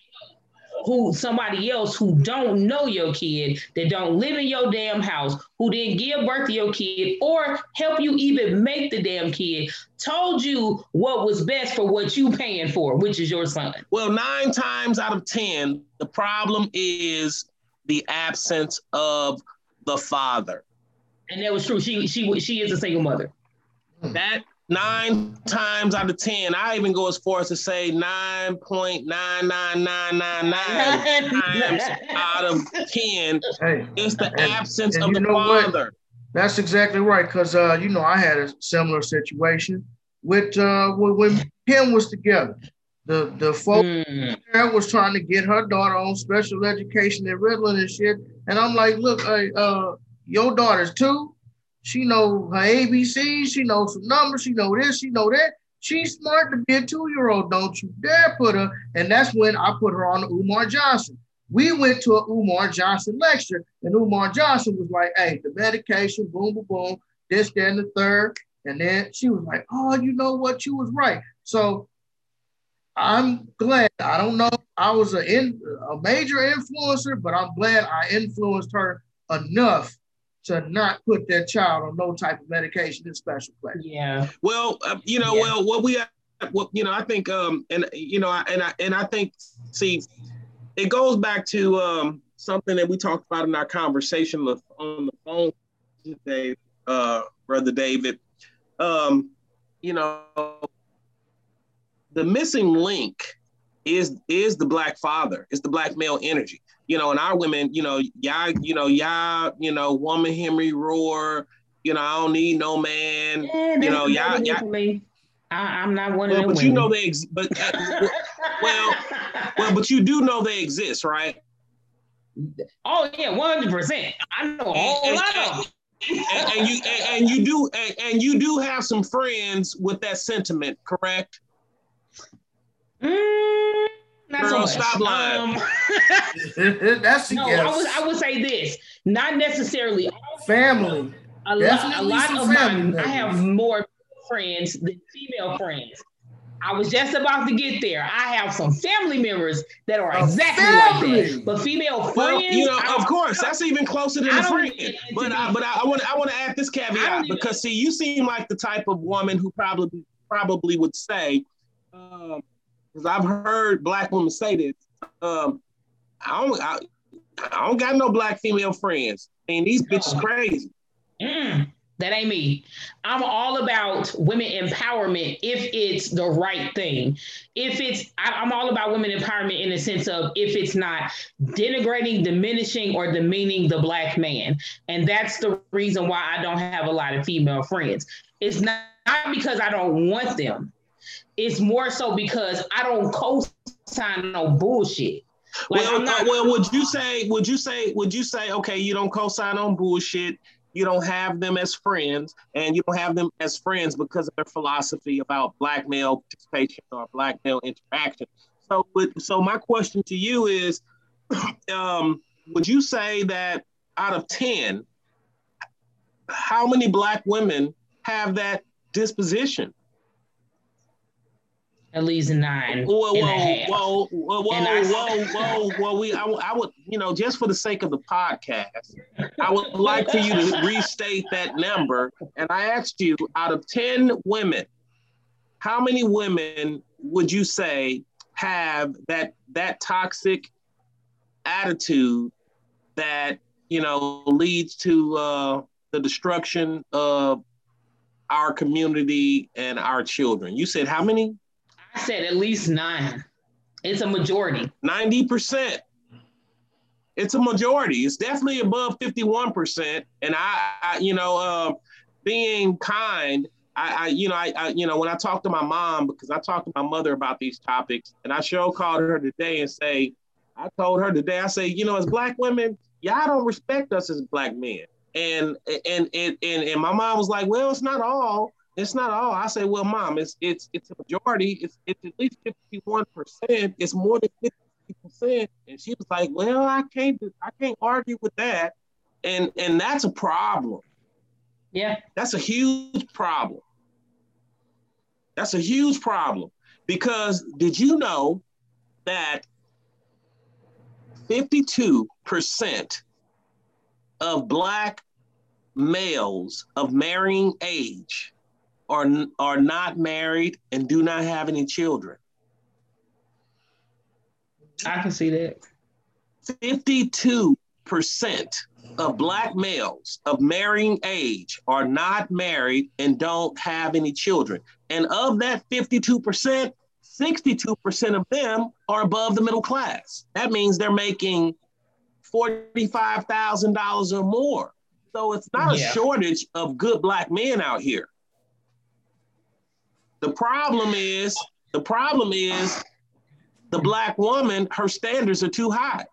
who somebody else who don't know your kid, that don't live in your damn house, who didn't give birth to your kid or help you even make the damn kid, told you what was best for what you paying for, which is your son. Well, nine times out of ten, the problem is the absence of the father. And that was true. She she she is a single mother. That nine times out of ten, I even go as far as to say nine point nine nine nine nine nine times out of ten, hey, it's the and, absence and of the father. What? That's exactly right. Because uh, you know, I had a similar situation with uh, when Kim was together. The the folks mm. there was trying to get her daughter on special education at Ritalin and shit, and I'm like, look, hey, uh, your daughter's two. She know her A B Cs, she knows some numbers, she know this, she know that. She's smart to be a two-year-old. Don't you dare put her. And that's when I put her on the Umar Johnson. We went to a Umar Johnson lecture, and Umar Johnson was like, hey, the medication, boom, boom, boom, this, that, and the third. And then she was like, oh, you know what? You was right. So I'm glad. I don't know. I was a, in, a major influencer, but I'm glad I influenced her enough to not put that child on no type of medication in special place. Yeah. Well, uh, you know, yeah. well, what we, what you know, I think, um, and you know, and I and I think, see, it goes back to um, something that we talked about in our conversation on the phone today, uh, Brother David. Um, you know, the missing link is is the Black father, is the Black male energy. You know, and our women, you know, y'all, you know, y'all, you know, woman Henry roar, you know, I don't need no man, yeah, you know, y'all, y'all. I, I'm not one well, of them. But women. you know they, ex- but uh, well, well, but you do know they exist, right? Oh yeah, one hundred percent. I know a whole and, lot and, of them. And, and you and, and you do and, and you do have some friends with that sentiment, correct? Mm. Not Girl, so much. Stop lying. Um, That's no. yes. I would I would say this. Not necessarily family. A lot. A lot of my. Members. I have more friends than female friends. I was just about to get there. I have some family members that are exactly family. like that. But female friends, well, you know, of course, that's even closer than a friend. But I, but I want I want to add this caveat because see, you seem like the type of woman who probably probably would say. Um, Because I've heard Black women say this. Um, I don't, I, I don't got no Black female friends. I mean, these bitches crazy. Mm, that ain't me. I'm all about women empowerment if it's the right thing. If it's, I, I'm all about women empowerment in the sense of if it's not denigrating, diminishing, or demeaning the Black man. And that's the reason why I don't have a lot of female friends. It's not, not because I don't want them. It's more so because I don't co-sign no bullshit. Like, well, I'm not, uh, well, would you say, would you say, would you say, okay, you don't co-sign on bullshit, you don't have them as friends, and you don't have them as friends because of their philosophy about Black male participation or Black male interaction. So, so my question to you is, um, would you say that out of ten, how many Black women have that disposition? At least nine Whoa, and a whoa, half. whoa, whoa, whoa, And I- whoa, whoa, whoa. We, I, I would, you know, just for the sake of the podcast, I would like for you to restate that number. And I asked you, out of ten women, how many women would you say have that that toxic attitude that, you know, leads to uh, the destruction of our community and our children? You said how many? I said at least nine. It's a majority. ninety percent. It's a majority. It's definitely above fifty-one percent. And I, I you know, uh, being kind, I, I you know, I, I, you know, when I talk to my mom, because I talked to my mother about these topics, and I sure called her today and say, I told her today, I say, you know, as Black women, y'all don't respect us as Black men. And and and and, and my mom was like, well, it's not all. It's not all. I say, well, Mom, it's it's it's a majority. It's it's at least fifty-one percent. It's more than fifty percent. And she was like, well, I can't I can't argue with that. And and that's a problem. Yeah. That's a huge problem. That's a huge problem. Because did you know that fifty-two percent of Black males of marrying age are, are not married and do not have any children? I can see that. fifty-two percent of Black males of marrying age are not married and don't have any children. And of that fifty-two percent, sixty-two percent of them are above the middle class. That means they're making forty-five thousand dollars or more. So it's not Yeah. a shortage of good Black men out here. The problem is, the problem is the Black woman, her standards are too high.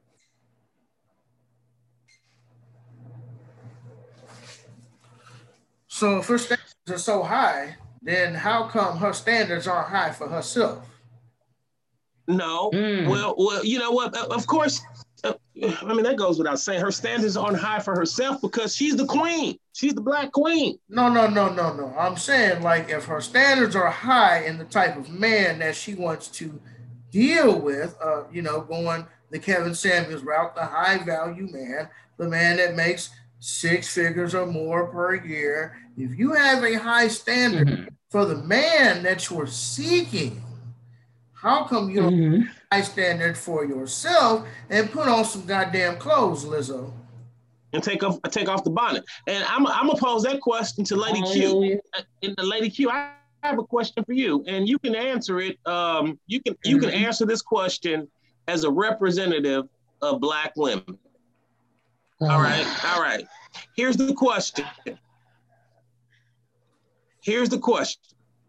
So if her standards are so high, then how come her standards aren't high for herself? No, Mm. well, well, you know what? Of course, uh, I mean that goes without saying. Her standards aren't high for herself because she's the queen. She's the Black queen. No, no, no, no, no. I'm saying, like, if her standards are high in the type of man that she wants to deal with, uh, you know, going the Kevin Samuels route, the high value man, the man that makes six figures or more per year. If you have a high standard Mm-hmm. for the man that you're seeking, how come you don't Mm-hmm. have a high standard for yourself and put on some goddamn clothes, Lizzo? And take off, take off the bonnet. And I'm, I'm gonna pose that question to Lady Q. Hallelujah. And the Lady Q, I have a question for you, and you can answer it. Um, you can, you can Mhm. answer this question as a representative of Black women. All right, all right. Here's the question. Here's the question.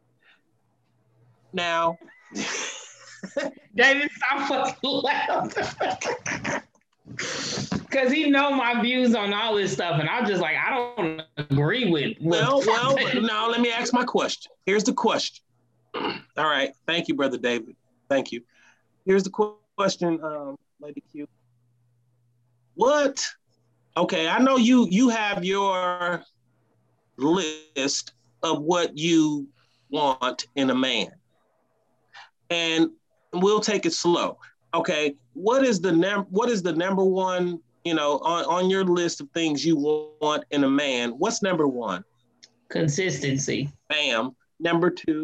Now, David, stop fucking laughing. Because he know my views on all this stuff, and I'm just like, I don't agree with. well, well, now let me ask my question. Here's the question. All right, thank you, Brother David. Thank you. Here's the qu- question, um, Lady Q. What? Okay, I know you you have your list of what you want in a man, and we'll take it slow. Okay, what is the num what is the number one, you know, on, on your list of things you want in a man? What's number one? Consistency. Bam. Number two.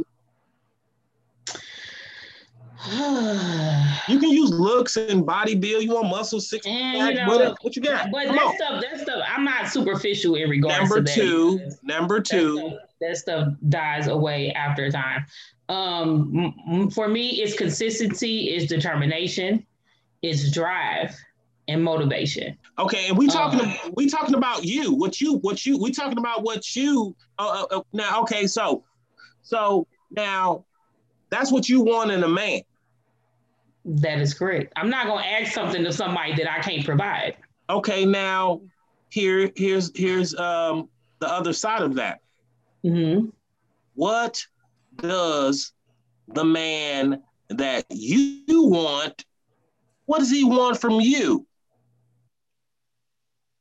You can use looks and body build. You want muscle, six And, pack, you know, what, what you got? But Come that on. stuff, that stuff, I'm not superficial in regards Number to that. two. because Number That two. stuff, that stuff dies away after time. Um, m- m- for me, it's consistency, it's determination, it's drive, and motivation. Okay, and we talking Um, we talking about you. What you what you we talking about what you uh, uh, uh, now? Okay, so so now that's what you want in a man. That is correct. I'm not gonna ask something to somebody that I can't provide. Okay, now here here's here's um the other side of that. Mm-hmm. What does the man that you want, what does he want from you?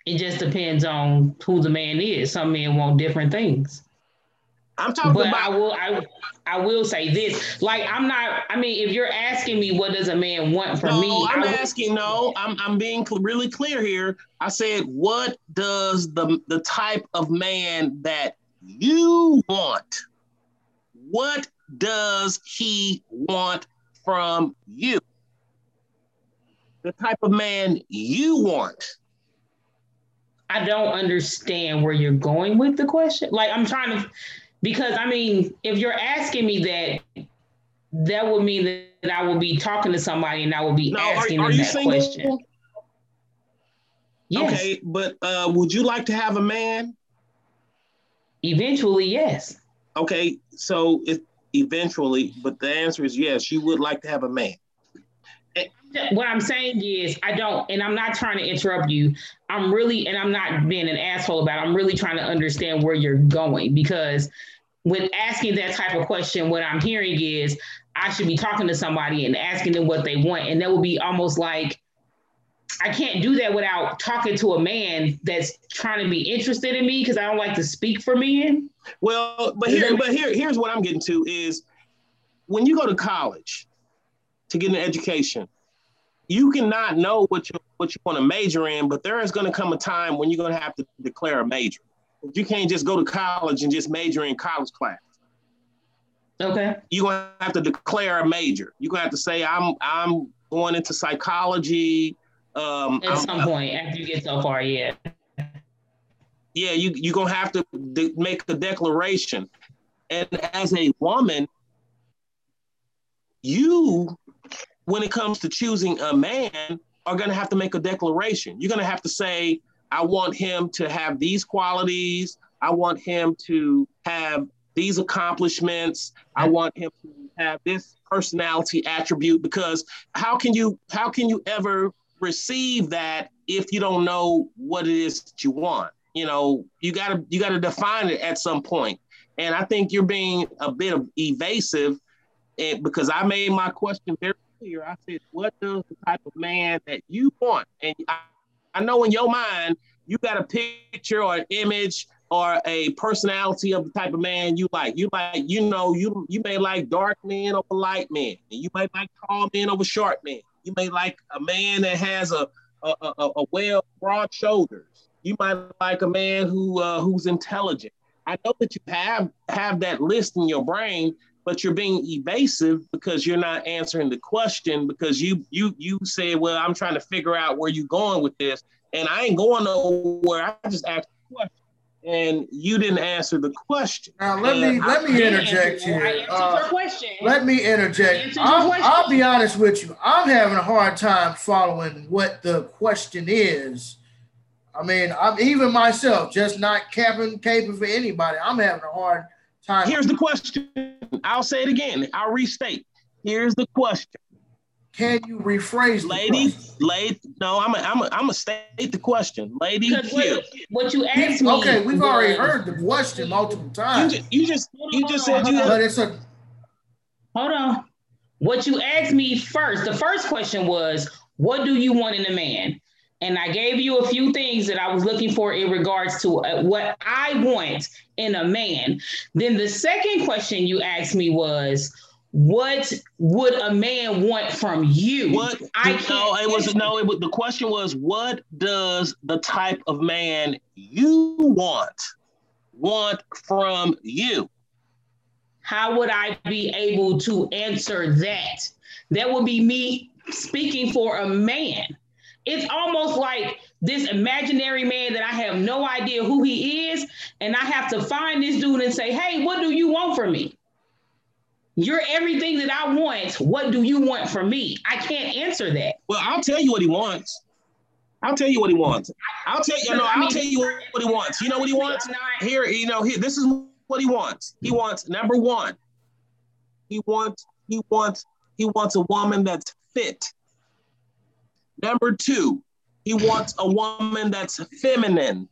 It just depends on who the man is. Some men want different things. I'm talking but about. I will, I, I will say this. Like, I'm not. I mean, if you're asking me, what does a man want from no, me? I'm I asking. Would, no, I'm I'm being really clear here. I said, what does the the type of man that you want? What does he want from you? The type of man you want. I don't understand where you're going with the question. Like, I'm trying to. Because, I mean, if you're asking me that, that would mean that I will be talking to somebody and I will be now, asking are, are them you that single? question. Yes. Okay, but uh, would you like to have a man? Eventually, yes. Okay, so if eventually, but the answer is yes, you would like to have a man. What I'm saying is, I don't, and I'm not trying to interrupt you. I'm really, and I'm not being an asshole about it. I'm really trying to understand where you're going, because with asking that type of question, what I'm hearing is I should be talking to somebody and asking them what they want. And that would be almost like, I can't do that without talking to a man that's trying to be interested in me, because I don't like to speak for men. Well, but here, but here, here's what I'm getting to is when you go to college to get an education, you cannot know what you what you want to major in, but there is going to come a time when you're going to have to declare a major. You can't just go to college and just major in college class. Okay. You're going to have to declare a major. You're going to have to say, I'm I'm going into psychology. Um, At I'm, some point, after you get so far, yeah. Yeah, you, you're going to have to de- make a declaration. And as a woman, you, when it comes to choosing a man, are going to have to make a declaration. You're going to have to say, I want him to have these qualities. I want him to have these accomplishments. I want him to have this personality attribute, because how can you how can you ever receive that if you don't know what it is that you want? You know, you gotta you gotta define it at some point. And I think you're being a bit of evasive, and because I made my question very clear. I said, what does the type of man that you want? And I, I know in your mind, you got a picture or an image or a personality of the type of man you like. You like, you know, you you may like dark men over light men. And you may like tall men over short men. You may like a man that has a a, a, a well broad shoulders. You might like a man who uh, who's intelligent. I know that you have have that list in your brain, but you're being evasive because you're not answering the question, because you you you say, well, I'm trying to figure out where you're going with this. And I ain't going nowhere. I just asked the question. And you didn't answer the question. Now let and me let me interject here. I answered uh, your question. Let me interject. I'll, I'll be honest with you. I'm having a hard time following what the question is. I mean, I'm even myself, just not capping caping for anybody. I'm having a hard time. Here's the question. I'll say it again. I'll restate. Here's the question. Can you rephrase the lady, question? Lady, no, I'm a, I'm a, I'm a state the question. Lady Q. What you asked me. Okay, we've was, already heard the question multiple times. You just, you just, you just said you. But it's a. Hold on. What you asked me first, the first question was, what do you want in a man? And I gave you a few things that I was looking for in regards to uh, what I want in a man. Then the second question you asked me was, what would a man want from you? What? I can't. No, it was no. It was, the question was, what does the type of man you want want from you? How would I be able to answer that? That would be me speaking for a man. It's almost like this imaginary man that I have no idea who he is, and I have to find this dude and say, hey, what do you want from me? You're everything that I want. What do you want from me? I can't answer that. Well, I'll tell you what he wants. I'll tell you what he wants. I'll tell you, no, I'll tell you what he wants. You know what he wants? Here, you know, here, this is what he wants. He wants, number one, he wants, he wants, he wants a woman that's fit. Number two, he wants a woman that's feminine.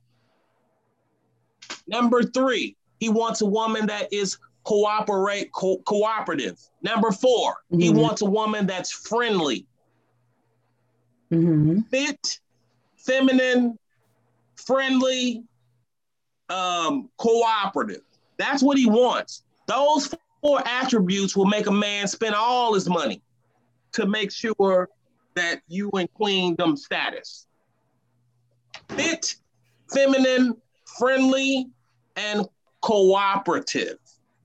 Number three, he wants a woman that is cooperate co- cooperative. Number four, mm-hmm. he wants a woman that's friendly. Mm-hmm. Fit, feminine, friendly, um, cooperative. That's what he wants. Those four attributes will make a man spend all his money to make sure that you in queendom status. Fit, feminine, friendly, and cooperative.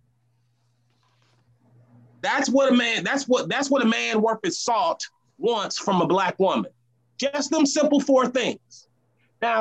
That's what a man, that's what that's what a man worth his salt wants from a Black woman. Just them simple four things. Now,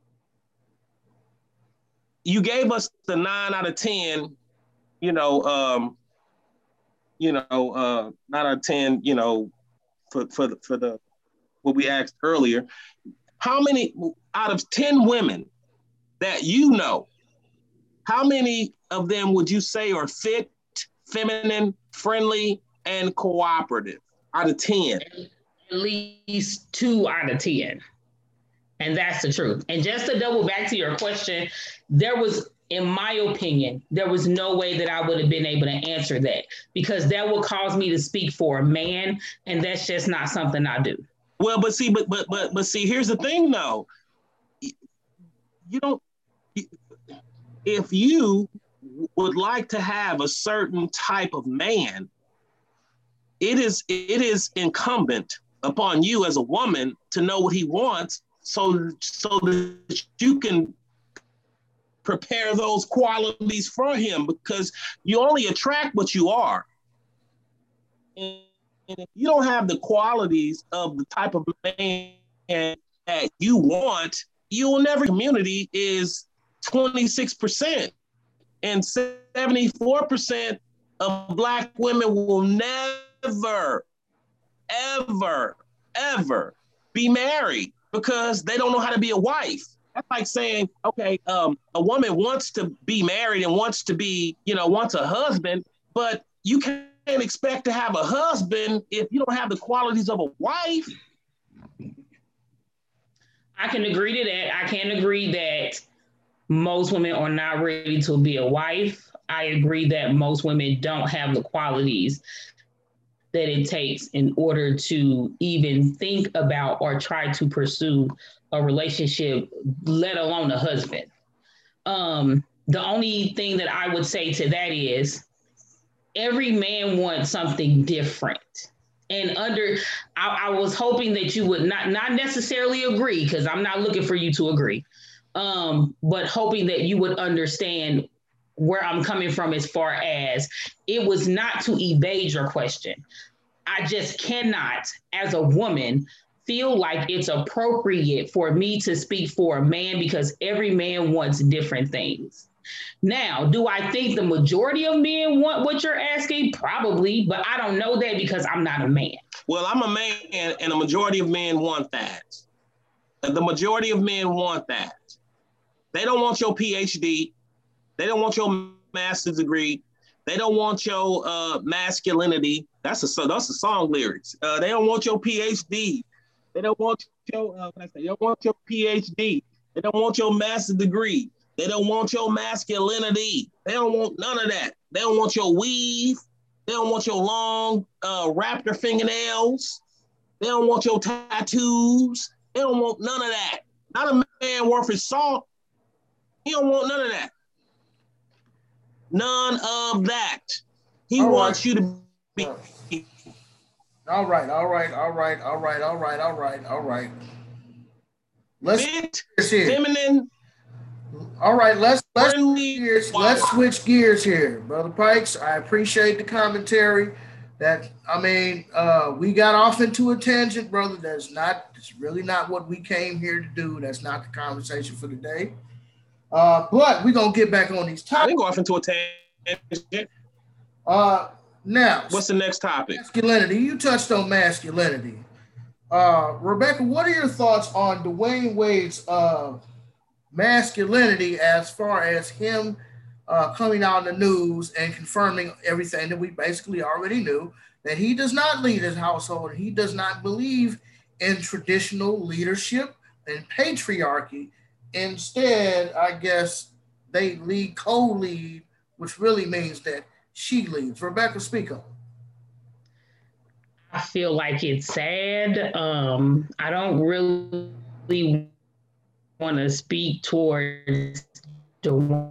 you gave us the nine out of ten, you know, um, you know, uh, nine out of ten, you know, for for the, for the what we asked earlier. How many out of ten women that you know, how many of them would you say are fit, feminine, friendly, and cooperative out of ten? At least two out of ten. And that's the truth. And just to double back to your question, there was, in my opinion, there was no way that I would have been able to answer that, because that would cause me to speak for a man, and that's just not something I do. Well, but see, but but but but see, here's the thing, though. You don't. If you would like to have a certain type of man, it is it is incumbent upon you as a woman to know what he wants, so so that you can prepare those qualities for him, because you only attract what you are. And if you don't have the qualities of the type of man that you want, you'll never. Community is twenty-six percent, and seventy-four percent of Black women will never, ever, ever be married because they don't know how to be a wife. That's like saying, okay, um, a woman wants to be married and wants to be, you know, wants a husband, but you can't expect to have a husband if you don't have the qualities of a wife. I can agree to that. I can agree that most women are not ready to be a wife. I agree that most women don't have the qualities that it takes in order to even think about or try to pursue a relationship, let alone a husband. Um, the only thing that I would say to that is every man wants something different. And under, I, I was hoping that you would not, not necessarily agree, because I'm not looking for you to agree, um, but hoping that you would understand where I'm coming from as far as it was not to evade your question. I just cannot, as a woman, feel like it's appropriate for me to speak for a man, because every man wants different things. Now, do I think the majority of men want what you're asking? Probably, but I don't know that because I'm not a man. Well, I'm a man, and a majority of men want that. The majority of men want that. They don't want your P H D. They don't want your master's degree. They don't want your uh, masculinity. That's a that's a song lyrics. Uh, they don't want your P H D. They don't want your uh, what I say. They don't want your P H D. They don't want your master's degree. They don't want your masculinity. They don't want none of that. They don't want your weave. They don't want your long uh, raptor fingernails. They don't want your tattoos. They don't want none of that. Not a man worth his salt. He don't want none of that. None of that. He all wants right. you to be. All right, all right, all right, all right, all right, all right, all right. Let's fit, feminine. All right, let's let's gears, let's switch gears here, Brother Pikes. I appreciate the commentary. That I mean, uh, we got off into a tangent, brother. That's not. It's really not what we came here to do. That's not the conversation for today. Uh, but we're gonna get back on these topics. I didn't go off into a tangent. Uh, now, what's the next topic? Masculinity. You touched on masculinity. Uh, Rebecca, what are your thoughts on Dwayne Wade's uh, masculinity as far as him uh, coming out in the news and confirming everything that we basically already knew, that he does not lead his household. He does not believe in traditional leadership and patriarchy. Instead, I guess they lead, co-lead, which really means that she leads. Rebecca, speak up. I feel like it's sad. Um, I don't really want to speak towards Dwyane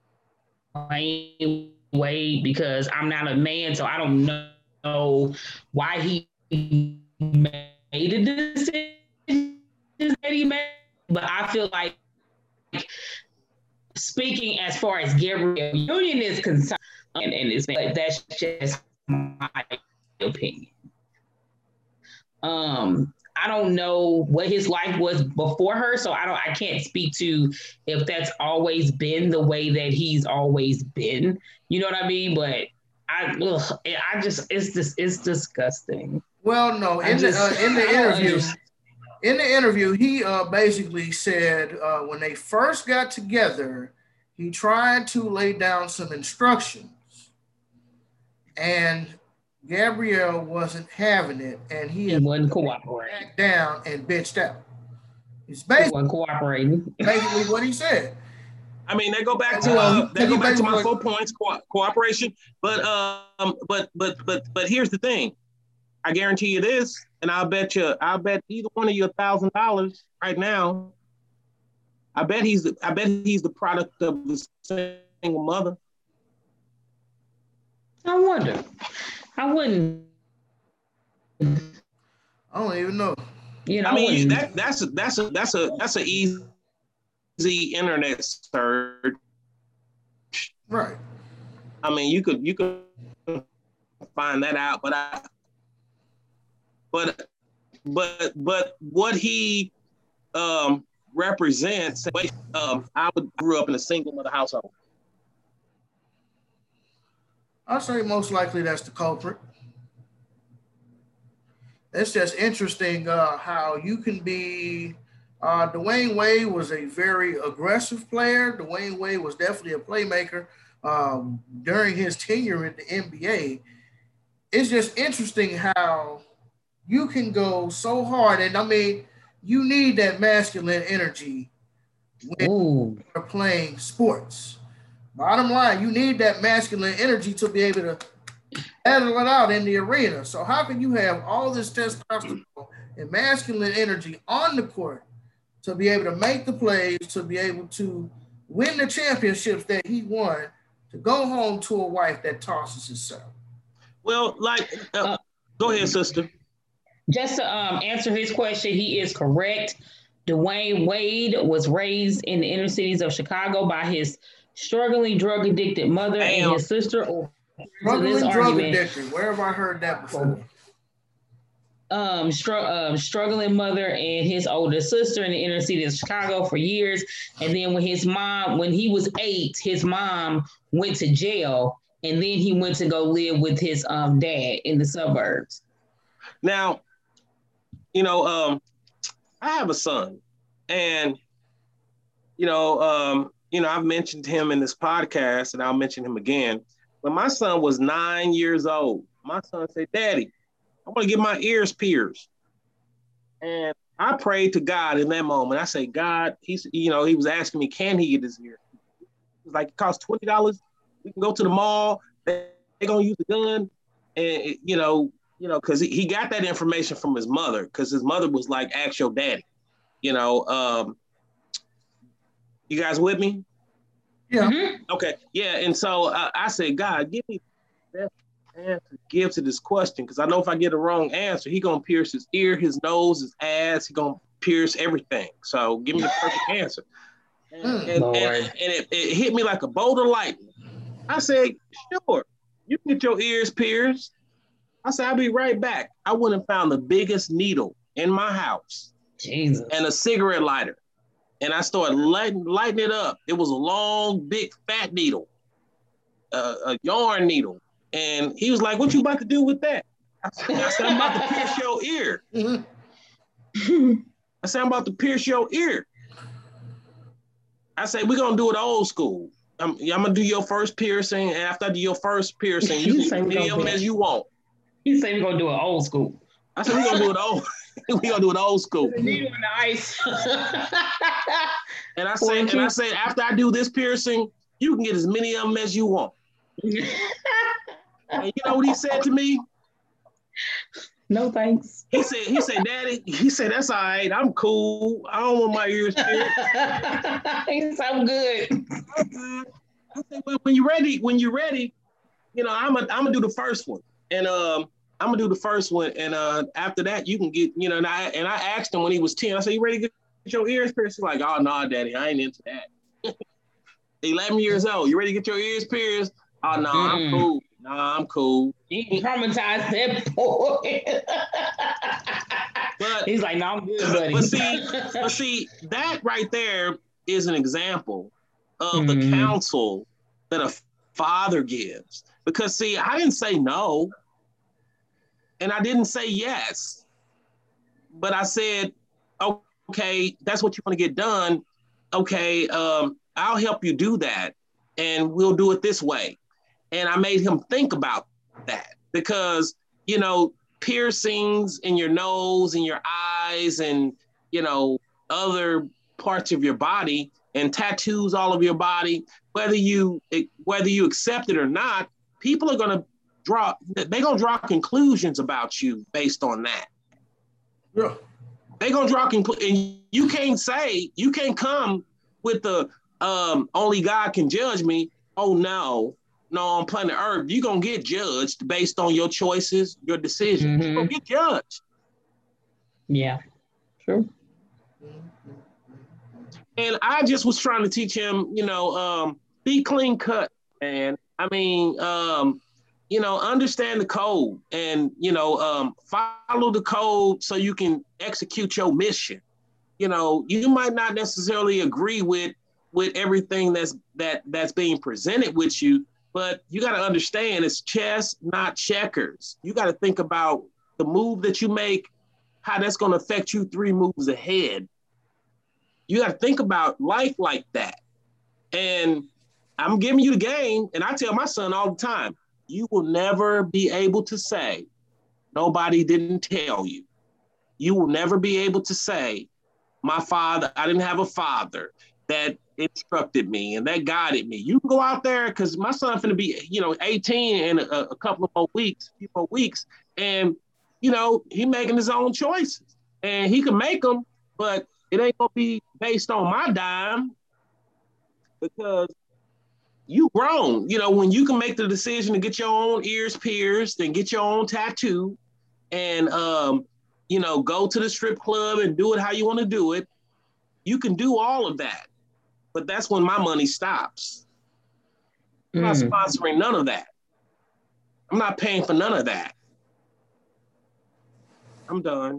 Wade because I'm not a man, so I don't know why he made the decision that he made. But I feel like speaking as far as Gabrielle Union is concerned, and, and it's, but that's just my opinion. Um, I don't know what his life was before her, so I don't. I can't speak to if that's always been the way that he's always been. You know what I mean? But I, ugh, I just, it's just, it's disgusting. Well, no, in just, the uh, in the interview, in the interview, he uh, basically said uh, when they first got together, he tried to lay down some instructions, and Gabrielle wasn't having it, and he, he wasn't cooperating. Back down and bitched out. He's basically he wasn't cooperating. Basically, what he said. I mean, they go back to uh, they go back to my four points co- cooperation, but um, but but but but here's the thing. I guarantee you this, and I'll bet you, I'll bet either one of you a thousand dollars right now. I bet he's the, I bet he's the product of the single mother. I wonder. I wouldn't. I don't even know. You know, I mean, I that that's a, that's a that's a that's a easy, easy internet search. Right. I mean, you could you could find that out, but I. But, but, but what he um, represents, um, I grew up in a single mother household. I'll say most likely that's the culprit. It's just interesting uh, how you can be. Uh, Dwyane Wade was a very aggressive player. Dwyane Wade was definitely a playmaker um, during his tenure in the N B A. It's just interesting how you can go so hard, and I mean, you need that masculine energy when Ooh. you're playing sports. Bottom line, you need that masculine energy to be able to battle it out in the arena. So how can you have all this testosterone and masculine energy on the court to be able to make the plays, to be able to win the championships that he won, to go home to a wife that tosses herself? Well, like, uh, go ahead, sister. Just to um, answer his question, he is correct. Dwyane Wade was raised in the inner cities of Chicago by his struggling drug addicted mother Damn. and his sister. Struggling drug addicted. Where have I heard that before? Um, str- um, struggling mother and his older sister in the inner city of Chicago for years. And then when his mom, when he was eight, his mom went to jail, and then he went to go live with his um, dad in the suburbs. Now, you know, um, I have a son, and, you know, um, you know, I've mentioned him in this podcast, and I'll mention him again. When my son was nine years old, my son said, "Daddy, I want to get my ears pierced." And I prayed to God in that moment. I said, God, he's, you know, he was asking me, can he get his ear? He was like, it costs twenty dollars. We can go to the mall. They're going to use the gun. And, you know, you know, because he, he got that information from his mother, because his mother was like, ask your daddy. You know, um, you guys with me? Yeah. Mm-hmm. Okay. Yeah. And so uh, I said, God, give me the best answer to give to this question, because I know if I get a wrong answer, he gonna pierce his ear, his nose, his ass. He gonna pierce everything. So give me the perfect answer. And, and, and, and it, it hit me like a bolt of lightning. I said, sure, you can get your ears pierced. I said, I'll be right back. I went and found the biggest needle in my house. Jesus. And a cigarette lighter. And I started lighting, lighting it up. It was a long, big, fat needle, uh, a yarn needle. And he was like, what you about to do with that? I said, I said I'm about to pierce your ear. Mm-hmm. I said, I'm about to pierce your ear. I said, we're going to do it old school. I'm, I'm going to do your first piercing. And after I do your first piercing, you can do many of them as you want. He said we're going to do it old school. I said, we're going to do it old We're gonna do it old school. The needle in the ice. and I say, and I say, after I do this piercing, you can get as many of them as you want. And you know what he said to me? No thanks. He said, he said, Daddy, he said, that's all right. I'm cool. I don't want my ears pierced. He said, I'm good. I'm good. I said, well, when you're ready, when you're ready, you know, I'm gonna I'm gonna do the first one. And um, I'm gonna do the first one. And uh, after that, you can get, you know, and I and I asked him when he was ten, I said, you ready to get your ears pierced? He's like, oh no, nah, Daddy, I ain't into that. eleven years old, you ready to get your ears pierced? Oh no, nah, I'm cool. No, nah, I'm cool. He traumatized that boy. But he's like, no, I'm good, buddy. But see, but see, that right there is an example of mm. the counsel that a father gives. Because see, I didn't say no, and I didn't say yes, but I said, okay, that's what you want to get done. Okay, um, I'll help you do that, and we'll do it this way. And I made him think about that because, you know, piercings in your nose and your eyes and, you know, other parts of your body and tattoos all over your body, whether you whether you accept it or not, people are going to draw, they're going to draw conclusions about you based on that. Yeah. They're going to draw conclusions. And you can't say, you can't come with the um, only God can judge me. Oh, no. No, on planet Earth, you're going to get judged based on your choices, your decisions. Mm-hmm. You're going to get judged. Yeah, true. And I just was trying to teach him, you know, um, be clean cut, man. I mean, um, you know, understand the code and, you know, um, follow the code so you can execute your mission. You know, you might not necessarily agree with with everything that's that that's being presented with you, but you got to understand it's chess, not checkers. You got to think about the move that you make, how that's going to affect you three moves ahead. You got to think about life like that. And I'm giving you the game, and I tell my son all the time, you will never be able to say, nobody didn't tell you. You will never be able to say, my father, I didn't have a father that instructed me and that guided me. You can go out there because my son's gonna be, you know, eighteen in a, a couple of more weeks, a few more weeks, and you know he making his own choices, and he can make them, but it ain't gonna be based on my dime because you grown. You know, when you can make the decision to get your own ears pierced and get your own tattoo, and um, you know, go to the strip club and do it how you want to do it. You can do all of that. But that's when my money stops. I'm mm. not sponsoring none of that. I'm not paying for none of that. I'm done.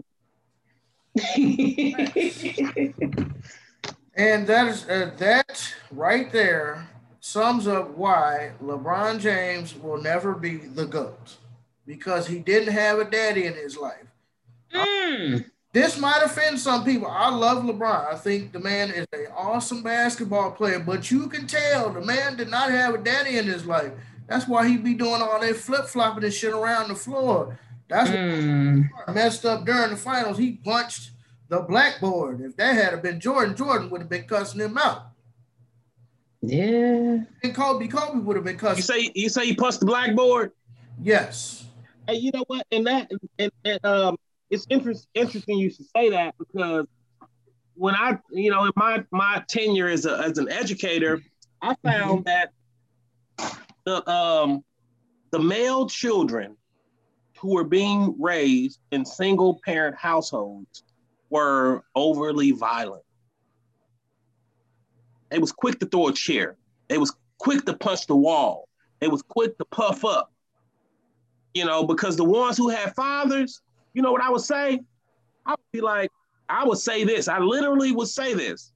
And that is uh, that right there sums up why LeBron James will never be the GOAT, because he didn't have a daddy in his life. Mm. This might offend some people. I love LeBron. I think the man is an awesome basketball player, but you can tell the man did not have a daddy in his life. That's why he be doing all that flip-flopping and shit around the floor. That's mm. what messed up during the finals. He punched the blackboard. If that had been Jordan, Jordan would have been cussing him out. Yeah. And Kobe, Kobe would have been cussing. You say you say he punched the blackboard? Yes. Hey, you know what? And that and, and um it's interest, interesting you should say that, because when I, you know, in my, my tenure as, a, as an educator, I found mm-hmm. that the, um, the male children who were being raised in single parent households were overly violent. They was quick to throw a chair. They was quick to punch the wall. They was quick to puff up, you know, because the ones who had fathers, you know what I would say? I would be like, I would say this. I literally would say this.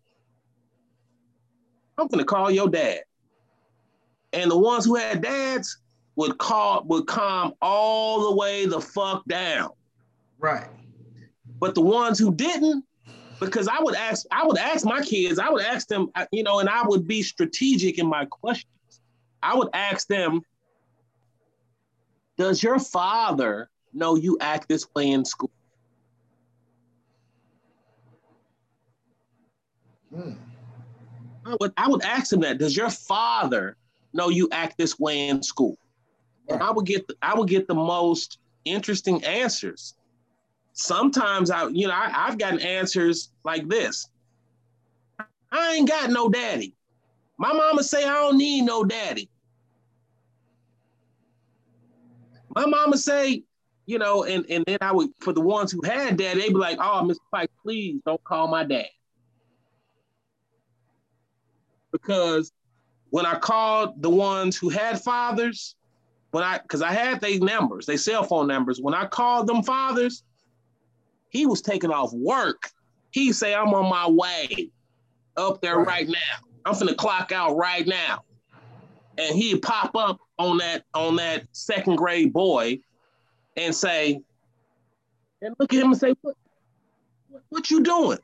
I'm gonna call your dad. And the ones who had dads would call, would calm all the way the fuck down. Right. But the ones who didn't, because I would ask, I would ask my kids, I would ask them, you know, and I would be strategic in my questions. I would ask them, does your father know you act this way in school? Mm. I would I would ask him that. Does your father know you act this way in school? And I would get the, I would get the most interesting answers. sometimes I, you know, I, I've gotten answers like this. I ain't got no daddy. My mama say I don't need no daddy. My mama say, you know, and, and then I would, for the ones who had daddy, they'd be like, oh, Mister Pike, please don't call my dad. Because when I called the ones who had fathers, when I, because I had their numbers, their cell phone numbers, when I called them fathers, he was taking off work. He'd say, I'm on my way up there right, right now. I'm finna clock out right now. And he'd pop up on that, on that second grade boy and say, and look at him and say, what, what, what you doing?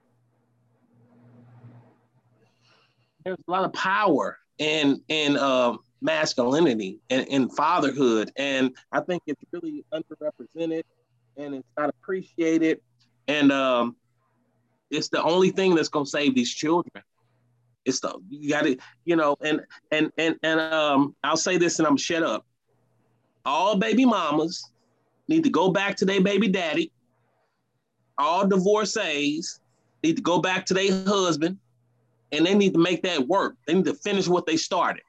There's a lot of power in, in uh, masculinity and in fatherhood. And I think it's really underrepresented and it's not appreciated. And um, it's the only thing that's gonna save these children. It's the, you gotta, you know, and, and, and, and um, I'll say this and I'm shut up. All baby mamas need to go back to their baby daddy. All divorcees need to go back to their husband. And they need to make that work. They need to finish what they started.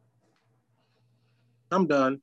I'm done.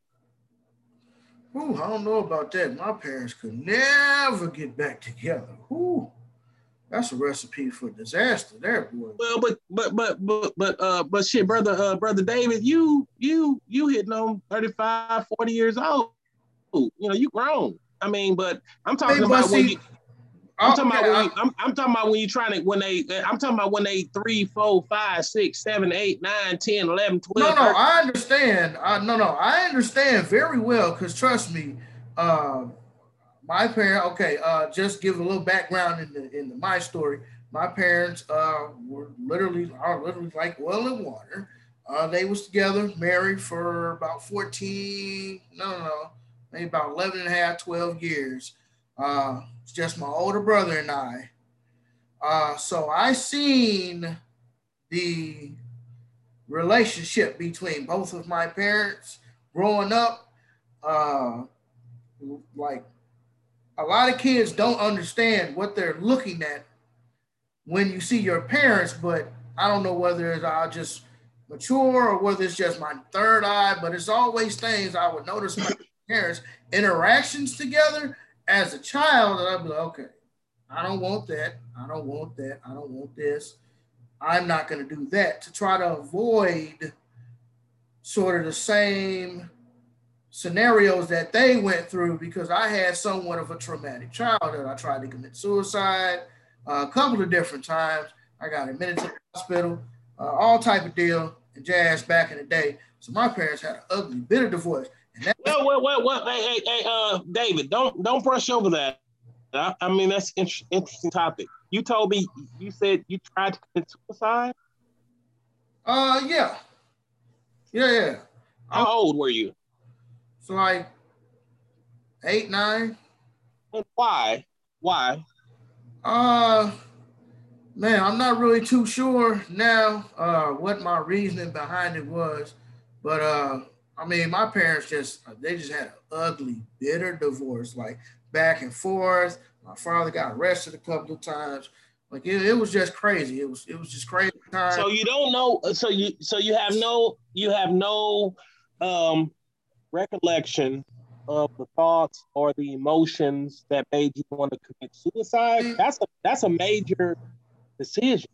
Ooh, I don't know about that. My parents could never get back together. Ooh, that's a recipe for disaster there, boy. Well, but but but but but uh but shit, brother, uh, brother David, you you you hitting on thirty-five, forty years old. You know, you grown. I mean, but I'm talking hey, about when see, you I'm talking, okay, about when you, I'm, I'm talking about when you're trying to, when they, I'm talking about when they three, four, five, six, seven, eight, nine, ten, eleven, twelve. No, no, I understand. I, no, no, I understand very well because trust me, uh, my parents, okay, uh, just give a little background in the, in the, my story. My parents uh, were literally, are literally like oil and water. Uh, they was together, married for about fourteen, no, no, no, maybe about eleven and a half, twelve years. Uh, it's just my older brother and I. Uh, so I seen the relationship between both of my parents growing up. Uh, like a lot of kids don't understand what they're looking at when you see your parents, but I don't know whether it's I just mature or whether it's just my third eye, but it's always things I would notice my parents' interactions together as a child, and I'd be like, okay, I don't want that. I don't want that. I don't want this. I'm not going to do that to try to avoid sort of the same scenarios that they went through because I had somewhat of a traumatic childhood. I tried to commit suicide uh, a couple of different times. I got admitted to the hospital, uh, all type of deal and jazz back in the day. So my parents had an ugly, bitter divorce. And well, well, well, well, hey, hey, hey, uh, David, don't don't brush over that. I, I mean, that's an inter- interesting topic. You told me, you said you tried to commit suicide? Uh, yeah. Yeah, yeah. How I'm, old were you? So like eight, nine. And why? Why? Uh, man, I'm not really too sure now uh, what my reasoning behind it was, but uh, I mean, my parents just, they just had an ugly, bitter divorce, like back and forth. My father got arrested a couple of times. Like it, it was just crazy. It was, it was just crazy time. So you don't know, so you, so you have no, you have no um, recollection of the thoughts or the emotions that made you want to commit suicide. That's a, that's a major decision.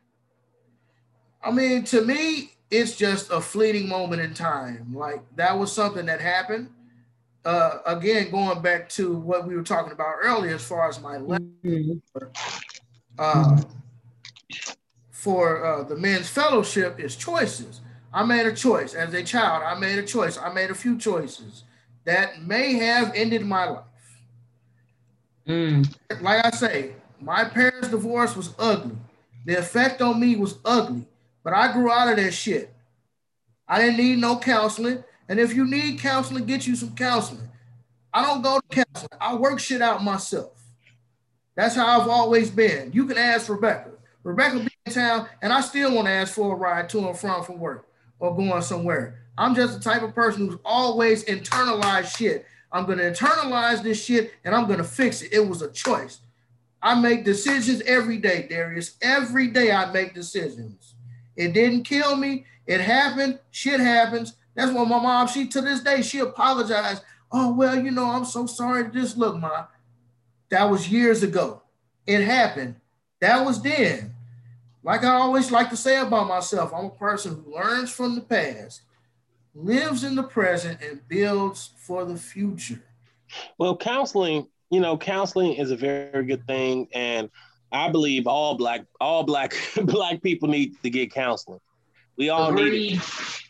I mean, to me, it's just a fleeting moment in time. Like that was something that happened. Uh, again, going back to what we were talking about earlier, as far as my mm-hmm. uh, for uh, the men's fellowship is choices. I made a choice as a child. I made a choice. I made a few choices that may have ended my life. Mm. Like I say, my parents' divorce was ugly. The effect on me was ugly. But I grew out of that shit. I didn't need no counseling. And if you need counseling, get you some counseling. I don't go to counseling. I work shit out myself. That's how I've always been. You can ask Rebecca. Rebecca be in town, and I still want to ask for a ride to and from from work or going somewhere. I'm just the type of person who's always internalized shit. I'm going to internalize this shit and I'm going to fix it. It was a choice. I make decisions every day, Darius. Every day I make decisions. It didn't kill me. It happened. Shit happens. That's why my mom, she to this day, she apologized. Oh, well, you know, I'm so sorry. Just look, Ma, that was years ago. It happened. That was then. Like I always like to say about myself, I'm a person who learns from the past, lives in the present, and builds for the future. Well, counseling, you know, counseling is a very good thing, and I believe all black all black black people need to get counseling. We all Agreed. need it.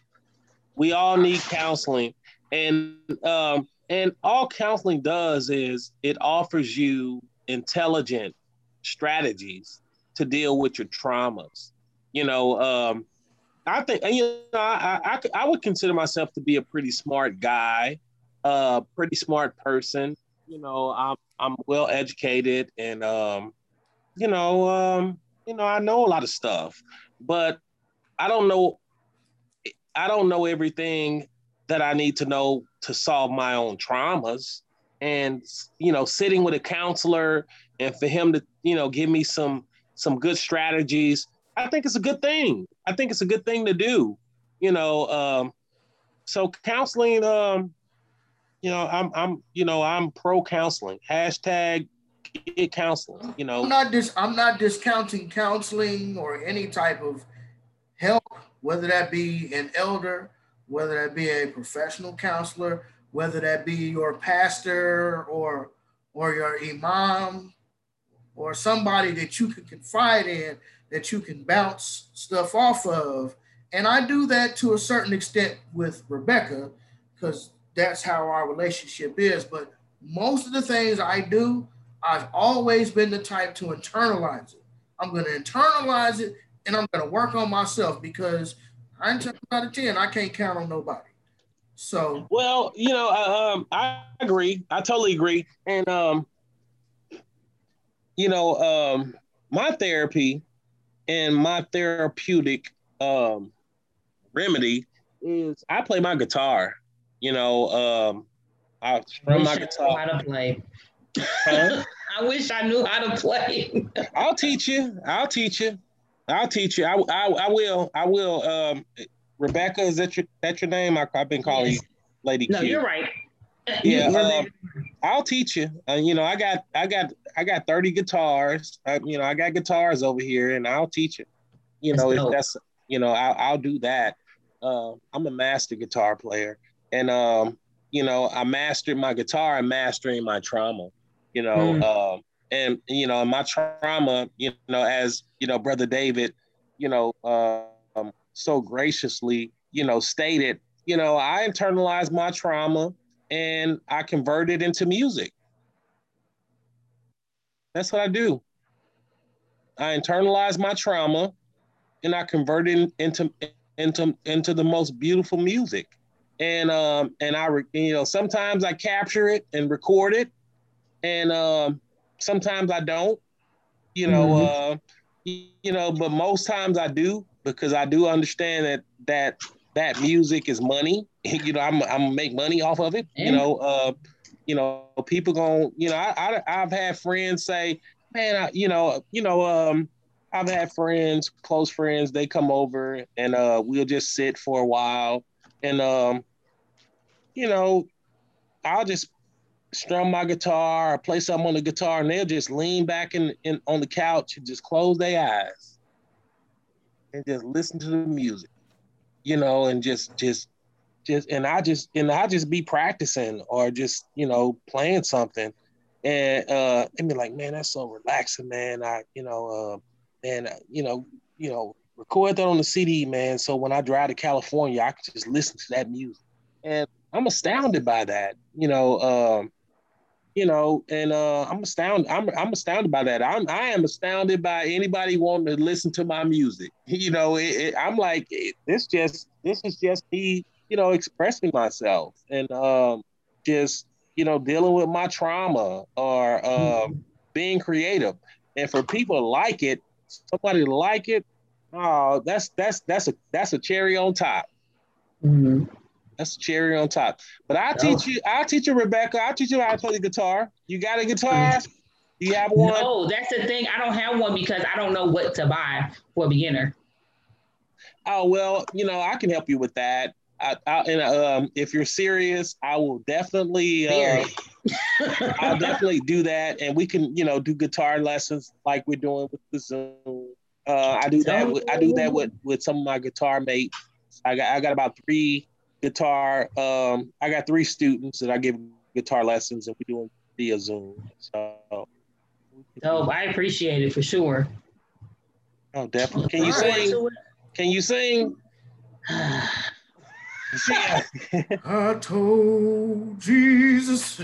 We all need counseling, and um, and all counseling does is it offers you intelligent strategies to deal with your traumas. You know, um, I think, and, you know, I, I, I would consider myself to be a pretty smart guy, a uh, pretty smart person. You know, I'm I'm well educated, and um, you know, um, you know, I know a lot of stuff, but I don't know, I don't know everything that I need to know to solve my own traumas. And you know, sitting with a counselor and for him to, you know, give me some some good strategies, I think it's a good thing. I think it's a good thing to do. You know, um, so counseling, um, you know, I'm, I'm, you know, I'm pro counseling. Hashtag get counseling. You know, I'm not dis- I'm not discounting counseling or any type of help, whether that be an elder, whether that be a professional counselor, whether that be your pastor or or your imam or somebody that you can confide in, that you can bounce stuff off of. And I do that to a certain extent with Rebecca, because that's how our relationship is. But most of the things I do, I've always been the type to internalize it. I'm going to internalize it and I'm going to work on myself, because nine times out of ten, I can't count on nobody. So, well, you know, uh, um, I agree. I totally agree. And, um, you know, um, my therapy and my therapeutic um, remedy is I play my guitar. You know, um, I strum my guitar. I how to play. Huh? I wish I knew how to play. I'll teach you. I'll teach you. I'll teach you. I, I, I will. I will. Um, Rebecca, is that your that your name? I, I've been calling yes. you Lady no, Q. No, you're right. Yeah, um, I'll teach you. Uh, you know, I got, I got, I got thirty guitars. I, you know, I got guitars over here, and I'll teach it. You know, that's if dope. that's, you know, I'll, I'll do that. Uh, I'm a master guitar player, and um, you know, I mastered my guitar and mastering my trauma. You know, mm. uh, and you know, my trauma. You know, as you know, Brother David, you know, uh, um, so graciously, you know, stated. You know, I internalized my trauma and I convert it into music. That's what I do. I internalize my trauma and I convert it into into into the most beautiful music. And um and I you know sometimes I capture it and record it, and um sometimes I don't. You know, mm-hmm. uh, you know, but most times I do, because I do understand that that that music is money. You know, I'm I'm gonna make money off of it. Yeah. You know, uh, you know, people gonna, you know, I, I I've had friends say, man, I, you know, you know, um, I've had friends, close friends, they come over and uh, we'll just sit for a while, and um, you know, I'll just strum my guitar or play something on the guitar, and they'll just lean back in, in on the couch and just close their eyes and just listen to the music, you know, and just just just and I just and I just be practicing or just, you know, playing something, and uh and be like, man, that's so relaxing, man. I you know uh and uh, you know you know record that on the C D, man, so when I drive to California I can just listen to that music. And I'm astounded by that, you know. um You know, and uh, I'm astounded. I'm I'm astounded by that. I'm I am astounded by anybody wanting to listen to my music. You know, it, it, I'm like, it, this just this is just me, you know, expressing myself and um, just you know dealing with my trauma or uh, mm-hmm. being creative. And for people to like it, somebody to like it, oh, that's that's that's a that's a cherry on top. Mm-hmm. That's the cherry on top. But I'll Oh. teach you. I'll teach you, Rebecca. I'll teach you how to play the guitar. You got a guitar? Do you have one? No, that's the thing. I don't have one because I don't know what to buy for a beginner. Oh well, you know I can help you with that. I, I, and um, if you're serious, I will definitely. Uh, I'll definitely do that, and we can, you know, do guitar lessons like we're doing with the Zoom. Uh, I do that. With, I do that with with some of my guitar mates. I got I got about three guitar. Um, I got three students that I give guitar lessons, and we're doing via Zoom. So. Oh, I appreciate it for sure. Oh, definitely. Can you sing? Can you sing? I told Jesus.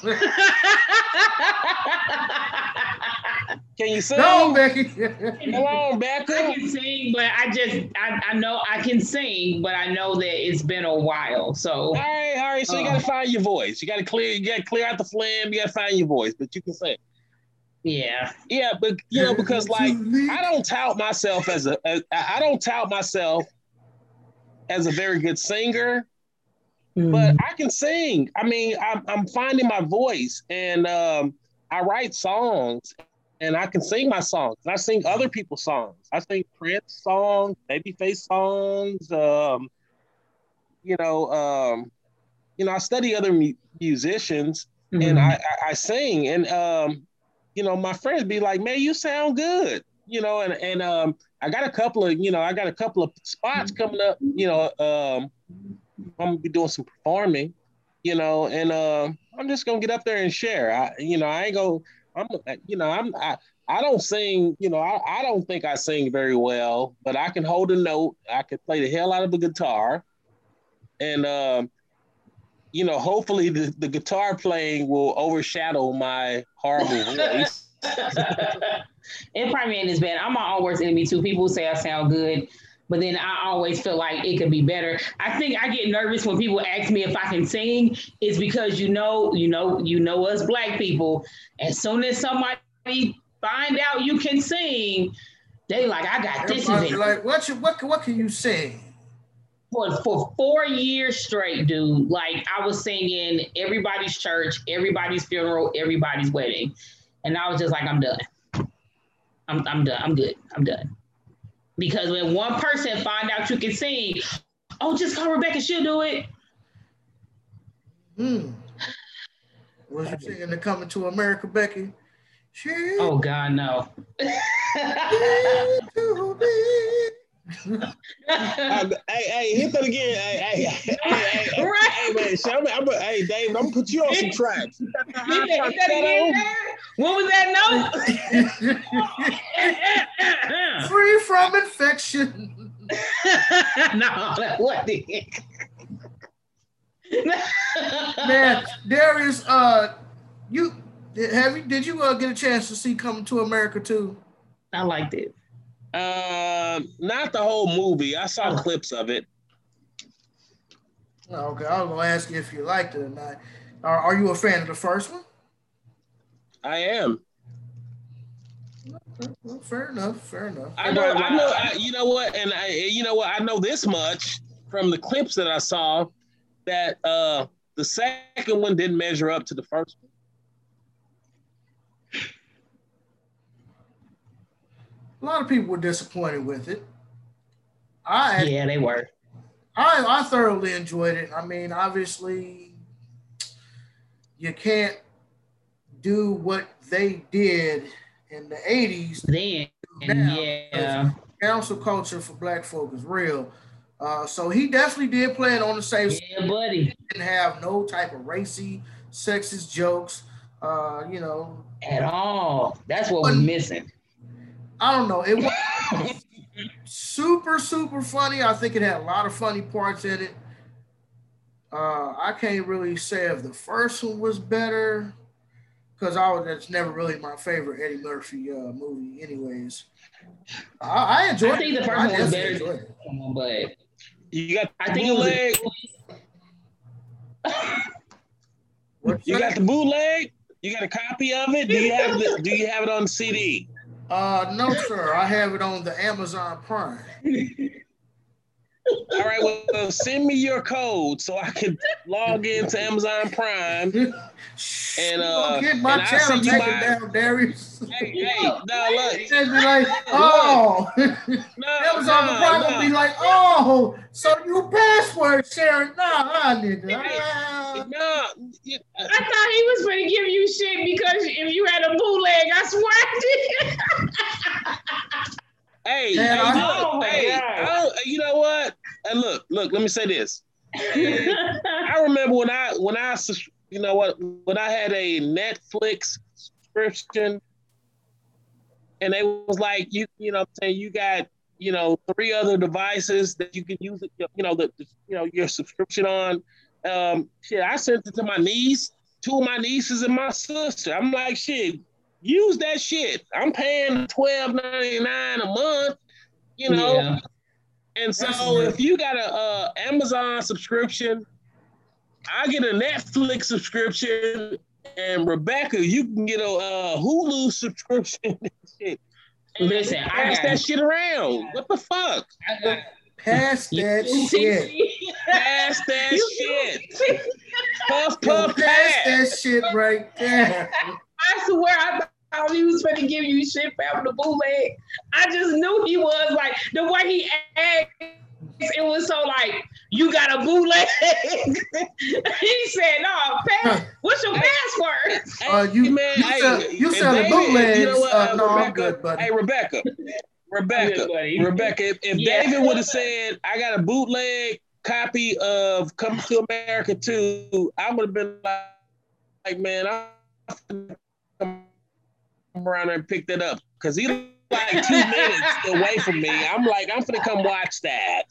Can you sing? No, Becky. Come on, Becca. I can sing, but I just I, I know I can sing, but I know that it's been a while. So all right, all right. So you gotta find your voice. You gotta clear. You gotta clear out the phlegm. You gotta find your voice, but you can sing. Yeah, yeah, but you know because like I don't tout myself as a as, I don't tout myself as a very good singer. Mm. But I can sing. I mean, I'm, I'm finding my voice, and um, I write songs, and I can sing my songs. I sing other people's songs. I sing Prince songs, Babyface songs. Um, you know, um, you know, I study other mu- musicians, mm-hmm. and I, I, I sing. And um, you know, my friends be like, "Man, you sound good." You know, and and um, I got a couple of, you know, I got a couple of spots coming up. You know, um. I'm gonna be doing some performing, you know, and uh, I'm just gonna get up there and share. I, you know, I ain't go. I'm, you know, I'm. I, I don't sing. You know, I, I don't think I sing very well, but I can hold a note. I can play the hell out of a guitar, and um, you know, hopefully the, the guitar playing will overshadow my horrible voice. It probably ain't as bad. I'm my own worst enemy too. People say I sound good. But then I always feel like it could be better. I think I get nervous when people ask me if I can sing. It's because you know, you know, you know us Black people. As soon as somebody find out you can sing, they like, I got this. Everybody like, what you what what can you sing? For for four years straight, dude. Like I was singing everybody's church, everybody's funeral, everybody's wedding, and I was just like, I'm done. I'm I'm done. I'm good. I'm done. Because when one person find out you can sing, oh, just call Rebecca, she'll do it. Hmm. Was you singing the Coming to America, Becky? She oh, God, no. um, hey, hey, hit that again. Hey, hey, hey, hey, hey, right. hey man, show me. I'm a, hey, Dave, I'm gonna put you on some tracks. Hit that, hit that, hit that again, what was that note? Free from infection. No, that wasn't it. Man, Darius, uh, you have you did you uh, get a chance to see Coming to America too? I liked it. Uh, not the whole movie. I saw oh. clips of it. Okay, I was gonna ask you if you liked it or not. Are, are you a fan of the first one? I am. Okay, well, fair enough. Fair enough. I know. I know. I, you know what? And I, you know what? I know this much from the clips that I saw that uh, the second one didn't measure up to the first one. A lot of people were disappointed with it. I yeah, they were. I I thoroughly enjoyed it. I mean, obviously, you can't do what they did in the eighties. Then, yeah. Council culture for Black folk is real. Uh, so he definitely did play it on the safe side. Yeah, buddy. He didn't have no type of racy, sexist jokes. Uh, you know, at all. That's what we're missing. I don't know. It was super, super funny. I think it had a lot of funny parts in it. Uh, I can't really say if the first one was better because I was that's never really my favorite Eddie Murphy uh, movie, anyways. I, I enjoyed. I think it. the first I one was better, than one, but you got. I think bootleg. It was. A, you got the bootleg. You got a copy of it. Do you have the? Do you have it on C D? Uh, no, sir. I have it on the Amazon Prime. All right, well, send me your code so I can log into Amazon Prime. And uh, don't get my and channel taken my... down, Darius. Hey, hey, no, look. They'd be like, oh. No, Amazon no, Prime no. will be like, oh, so you password sharing? Nah, nah, nigga. Ah. No, I thought he was going to give you shit because if you had a bootleg, I swear I did. Hey, Man, hey, I- look, Oh my hey, God. I don't- you know what? And look, look, let me say this. I remember when I when I sus- you know what when I had a Netflix subscription, and they was like, you you know, saying you got you know three other devices that you can use it, you know the, the you know your subscription on. Um, shit, I sent it to my niece, two of my nieces, and my sister. I'm like, shit, use that shit. I'm paying twelve ninety-nine a month, you know. Yeah. And so That's weird. if you got a uh, Amazon subscription, I get a Netflix subscription, and Rebecca, you can get a uh, Hulu subscription. And shit. And Listen, I pass got- that shit around. What the fuck? I got- Pass that You- shit. Pass that You- shit. Puff, Yo, puff, pass pass. that shit right there. I swear I thought he was going to give you shit for having the bootleg. I just knew he was like, the way he asked, it was so like, you got a bootleg? He said, no, pass, what's your password? Uh, you, Hey, man, you, hey, sell, you if selling David- bootlegs? You know what, uh, no, I'm Rebecca, good, buddy. Hey, Rebecca, Rebecca, Good, buddy. Rebecca, if, if Yeah. David would have said, I got a bootleg copy of Coming to America two, I would have been like, like, man, I'm come around there and pick that up. Because he like two minutes away from me. I'm like, I'm finna come watch that.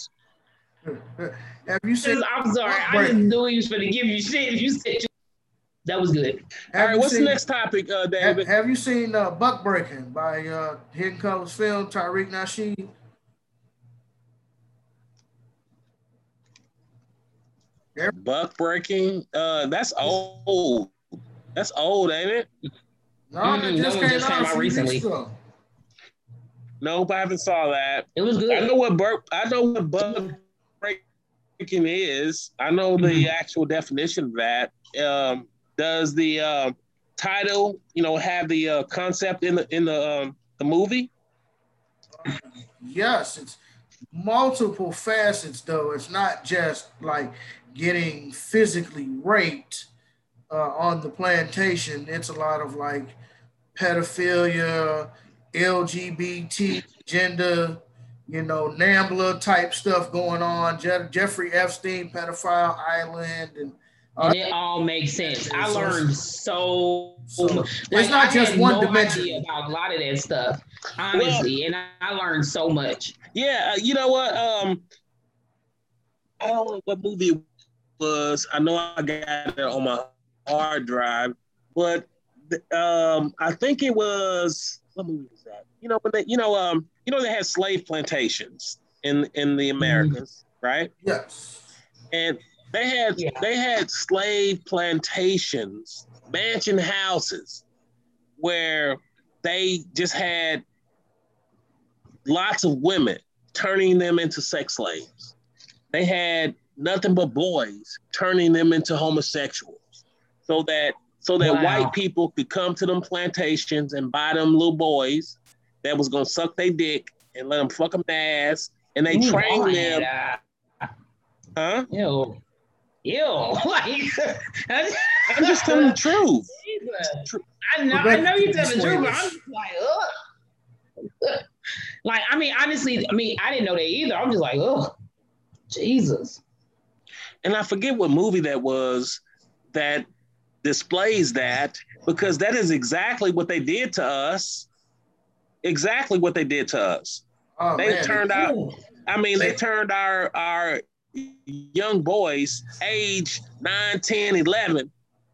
Have you seen? I'm sorry. I just knew he was going to give you shit if you said you. That was good. All Have right, you what's seen, the next topic, uh, Have, David? have you seen uh, Buck Breaking by uh, Hidden Colors Film, Tariq Nasheed? Buck breaking? Uh, that's old. That's old, ain't it? No, Mm, it just no, it came just out came a out few recently. weeks ago. Nope, I haven't saw that. It was I good. know what Buck. I know what Buck breaking is. I know the Mhm. actual definition of that. Um, does the uh, title, you know, have the uh, concept in the in the um, the movie? Yes, it's multiple facets though. It's not just like getting physically raped uh, on the plantation. It's a lot of like pedophilia, L G B T, gender, you know, NAMBLA type stuff going on. Je- Jeffrey Epstein, pedophile island, and And it all makes sense. I learned so, So, much. it's Like, not I just had one no dimension. idea about a lot of that stuff, honestly. and I, I learned so much. Yeah, uh, you know what? Um, I don't know what movie it was. I know I got it on my hard drive, but um, I think it was what movie was that? You know, when they, you know, um, you know, they had slave plantations in in the Americas, mm-hmm. right? Yes. And they had yeah. they had slave plantations, mansion houses, where they just had lots of women, turning them into sex slaves. They had nothing but boys, turning them into homosexuals, so that so that wow. white people could come to them plantations and buy them little boys that was gonna suck their dick and let them fuck them ass, and they Ooh, trained them. Huh? Ew. Ew. Like, I'm just telling the truth. I know, I know you're telling the truth, but I'm just like, ugh. Like, I mean, honestly, I mean, I didn't know that either. I'm just like, ugh, Jesus. And I forget what movie that was that displays that, because that is exactly what they did to us. Exactly what they did to us. Oh, they man. turned out, I mean, they turned our our young boys, age nine, ten, eleven,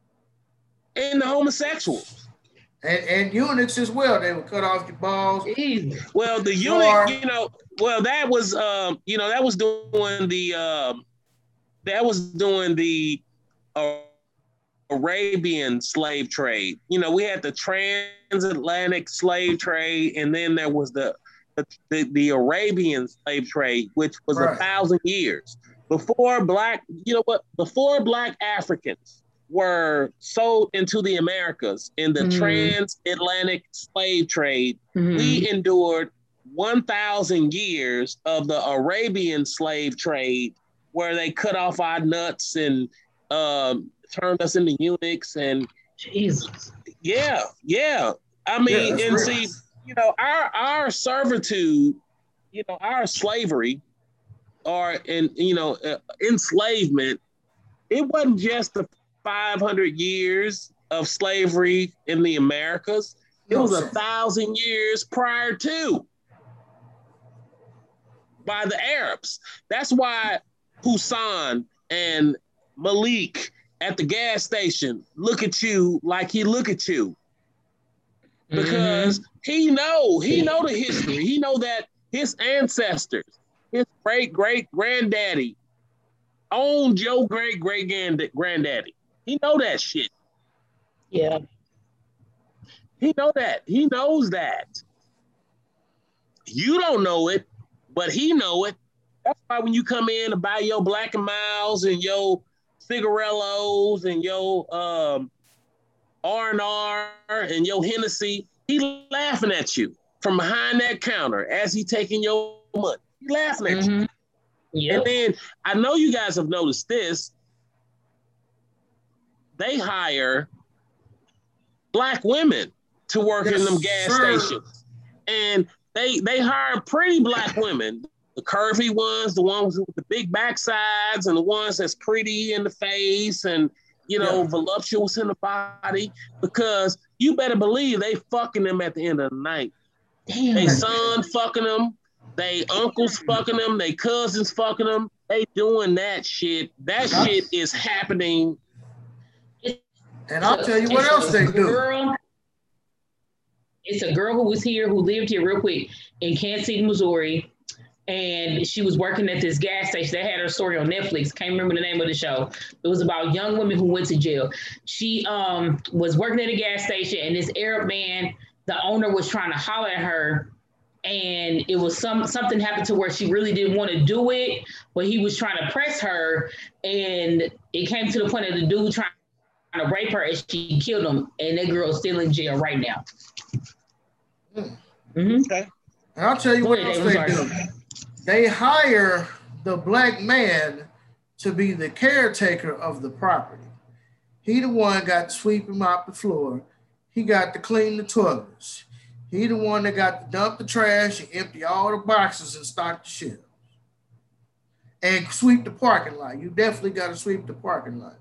into homosexuals. And, and eunuchs as well. They would cut off your balls. Well, the eunuch, you know, well, that was, um, you know, that was doing the, um, that was doing the uh, Arabian slave trade. You know, we had the transatlantic slave trade, and then there was the the, the, the Arabian slave trade, which was Right. a thousand years before black, you know what, before black Africans were sold into the Americas in the Mhm. transatlantic slave trade, Mhm. we endured one thousand years of the Arabian slave trade where they cut off our nuts and um, turned us into eunuchs. And Jesus. yeah, yeah. I Yeah, mean, that's and real. see, you know, our our servitude, you know, our slavery or in, you know, uh, enslavement, it wasn't just the five hundred years of slavery in the Americas. It No, was a sir. thousand years prior to by the Arabs. That's why Hussein and Malik at the gas station look at you like he look at you because Mhm. he know he know the history. He know that his ancestors, his great great granddaddy, owned your great great granddaddy. He know that shit. Yeah. He know that. He knows that. You don't know it, but he know it. That's why when you come in to buy your Black and Miles and your cigarellos and your um, R and R and your Hennessy, he laughing at you from behind that counter as he taking your money. He laughing at Mhm. you. Yep. And then I know you guys have noticed this. They hire black women to work Yes, in them gas sir. stations. And they they hire pretty black women, the curvy ones, the ones with the big backsides, and the ones that's pretty in the face and, you know, Yeah. voluptuous in the body, because you better believe they fucking them at the end of the night. Damn. They son fucking them, they uncles fucking them, they cousins fucking them. They doing that shit. That Yeah. shit is happening. And I'll tell you what It's else a they do. girl. It's a girl who was here, who lived here real quick in Kansas City, Missouri. And she was working at this gas station. They had her story on Netflix. Can't remember the name of the show. It was about young women who went to jail. She um, was working at a gas station, and this Arab man, the owner, was trying to holler at her. And it was some something happened to where she really didn't want to do it, but he was trying to press her. And it came to the point of the dude trying to rape her, and she killed him. And that girl's still in jail right now. Mm. Mm-hmm. Okay. And I'll tell you Go what ahead, else Dave, they I'm do. They hire the black man to be the caretaker of the property. He the one got to sweep him out the floor. He got to clean the toilets. He the one that got to dump the trash and empty all the boxes and stock the shelves. And sweep the parking lot. You definitely got to sweep the parking lot.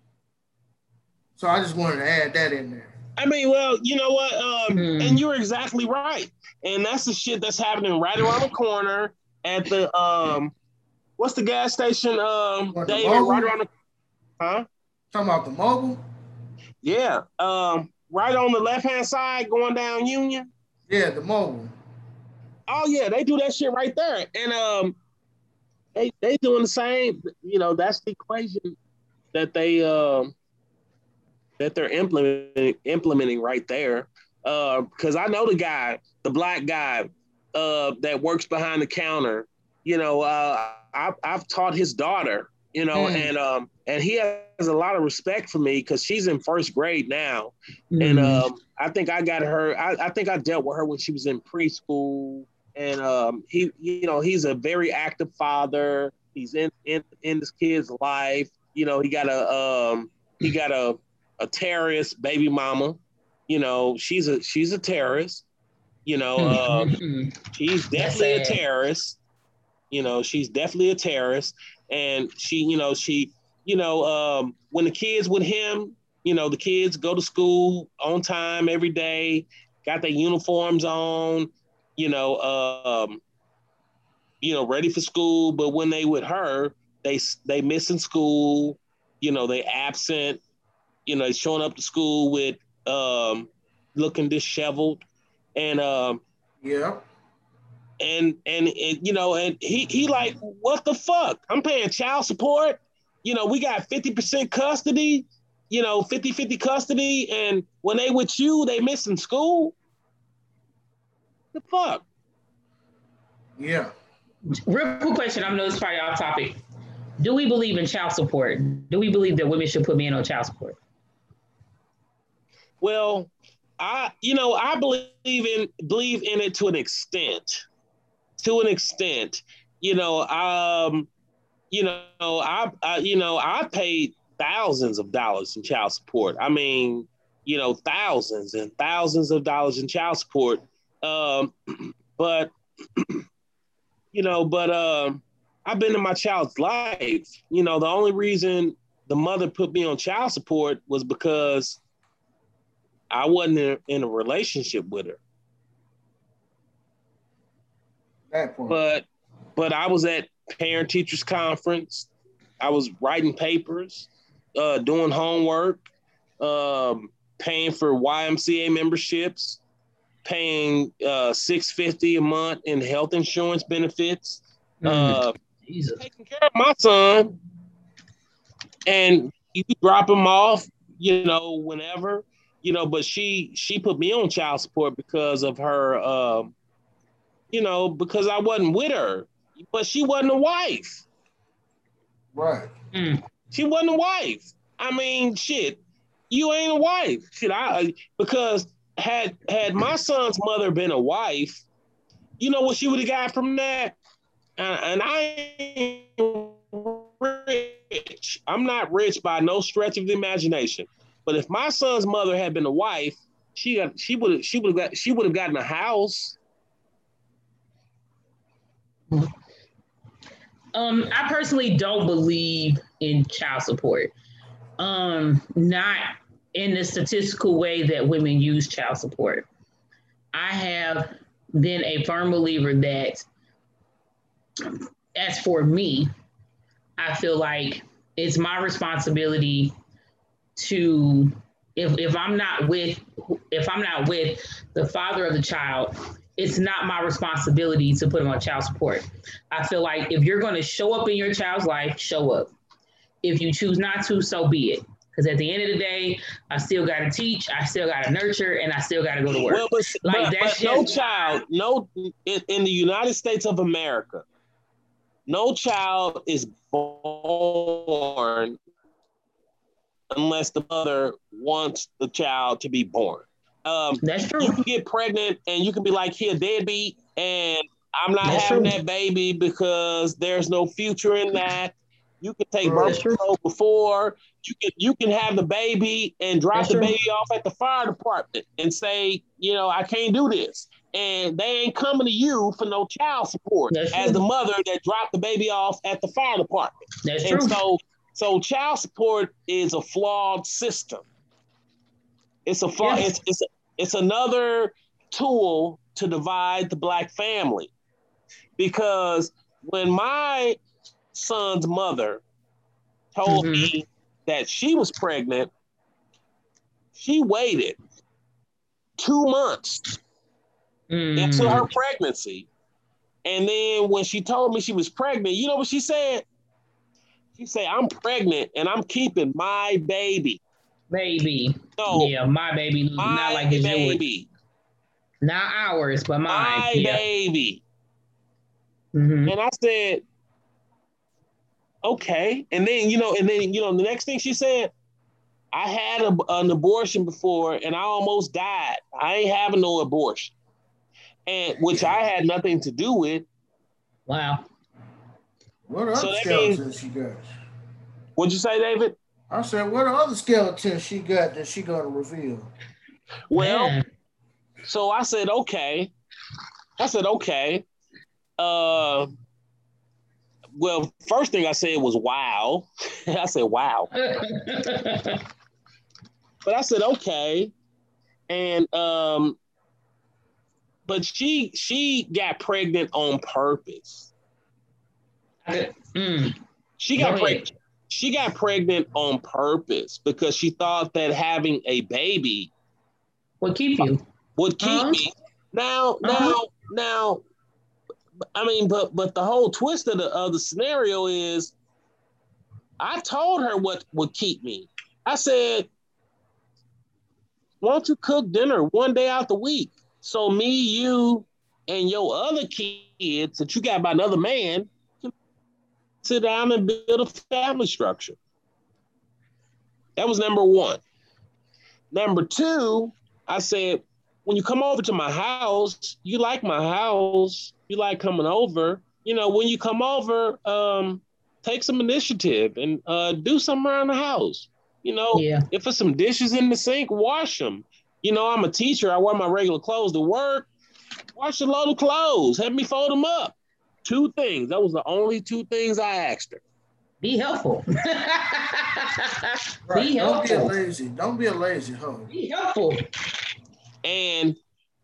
So I just wanted to add that in there. I mean, well, you know what? Um, Hmm. And you're exactly right. And that's the shit that's happening right around the corner at the um, what's the gas station? Um, What, the David, Mobil? right around the, huh? Talking about the Mobil? Yeah. Um, right on the left hand side, going down Union. Yeah, the Mobil. Oh yeah, they do that shit right there, and um, they they doing the same. You know, that's the equation that they um that they're implementing implementing right there. Uh, because I know the guy, the black guy, uh, that works behind the counter. You know, uh, I've I've taught his daughter. You know, Mm. and um, and he has a lot of respect for me because she's in first grade now, Mm. and um, I think I got her. I, I think I dealt with her when she was in preschool, and um, he, you know, he's a very active father. He's in in in this kid's life. You know, he got a um, he got a a terrorist baby mama. You know, she's a she's a terrorist. You know, uh, Mm-hmm. she's That's definitely a sad. terrorist. You know, she's definitely a terrorist, and she, you know, she, you know, um, when the kids with him, you know, the kids go to school on time every day, got their uniforms on, you know, um, you know, ready for school. But when they with her, they they missing school. You know, they absent. You know, showing up to school with um, looking disheveled, and um, Yeah. and and and you know, and he he like, what the fuck? I'm paying child support. You know, we got fifty percent custody. You know, fifty-fifty custody, and when they with you, they missing school. The fuck? Yeah. Real quick question. I know it's probably off topic. Do we believe in child support? Do we believe that women should put men on child support? Well, I you know I believe in believe in it to an extent. To an extent, you know, um, you know, I, I you know I paid thousands of dollars in child support. I mean, you know, thousands and thousands of dollars in child support. Um, but you know, but um, I've been in my child's life. You know, the only reason the mother put me on child support was because I wasn't in, in a relationship with her. That point. But but I was at parent teachers conference. I was writing papers, uh, doing homework, um, paying for Y M C A memberships, paying uh, six hundred fifty dollars a month in health insurance benefits, Mm, uh, Jesus. taking care of my son, and you drop him off, you know, whenever, you know. But she she put me on child support because of her, um, you know, because I wasn't with her, but she wasn't a wife. Right. Mm. She wasn't a wife. I mean, shit, you ain't a wife. Shit, I because had had my son's mother been a wife, you know what she would have got from that? And, and I ain't rich. I'm not rich by no stretch of the imagination. But if my son's mother had been a wife, she got she would have she would have got she would have gotten a house. Um, I personally don't believe in child support. Um, not in the statistical way that women use child support. I have been a firm believer that, as for me, I feel like it's my responsibility to, if if I'm not with if I'm not with the father of the child, it's not my responsibility to put him on child support. I feel like if you're going to show up in your child's life, show up. If you choose not to, so be it. Because at the end of the day, I still got to teach, I still got to nurture, and I still got to go to work. Well, but, like but, that's but no just child, no in, in the United States of America, no child is born unless the mother wants the child to be born. Um, That's true. You can get pregnant and you can be like, here, deadbeat, and I'm not That's having true. that baby because there's no future in that. You can take Right. birth That's true. control before. You can you can have the baby and drop That's the true. baby off at the fire department and say, you know, I can't do this. And they ain't coming to you for no child support That's as the true. mother that dropped the baby off at the fire department. That's And true. so so child support is a flawed system. It's a flaw, Yeah. it's it's it's another tool to divide the Black family. Because when my son's mother told Mhm. me that she was pregnant, she waited two months into her Mm. pregnancy. And then when she told me she was pregnant, you know what she said? She said, I'm pregnant and I'm keeping my baby. Baby. No, Yeah, my baby. Not my like it's yours. baby. Not ours, but mine. My Yeah. baby. hmm And I said, okay. And then, you know, and then, you know, the next thing she said, I had a, an abortion before and I almost died. I ain't having no abortion. And which I had nothing to do with. Wow. What other So that means, skeletons she got? what'd you say, David? I said, what other skeletons she got that she gonna reveal? Well, Man. so I said, okay. I said, okay. Uh, well, first thing I said was, wow. I said, wow. But I said, okay. And, um, but she, she got pregnant on purpose. mm. She Go got ahead. pregnant. She got pregnant on purpose because she thought that having a baby What keep you? would keep Uh-huh. me. Now, Uh-huh. now, now, I mean, but but the whole twist of the of the scenario is, I told her what would keep me. I said, "Why don't you cook dinner one day out the week? So me, you, and your other kids that you got by another man can sit down and build a family structure. That was number one. Number two, I said, when you come over to my house, you like my house, you like coming over. You know, when you come over, um, take some initiative and uh, do something around the house. You know, yeah. if there's some dishes in the sink, wash them. You know, I'm a teacher. I wear my regular clothes to work. Wash a load of clothes. Have me fold them up. Two things. That was the only two things I asked her. Be helpful. Right. Be Don't be a helpful. lazy. Don't be a lazy hoe. Be helpful. And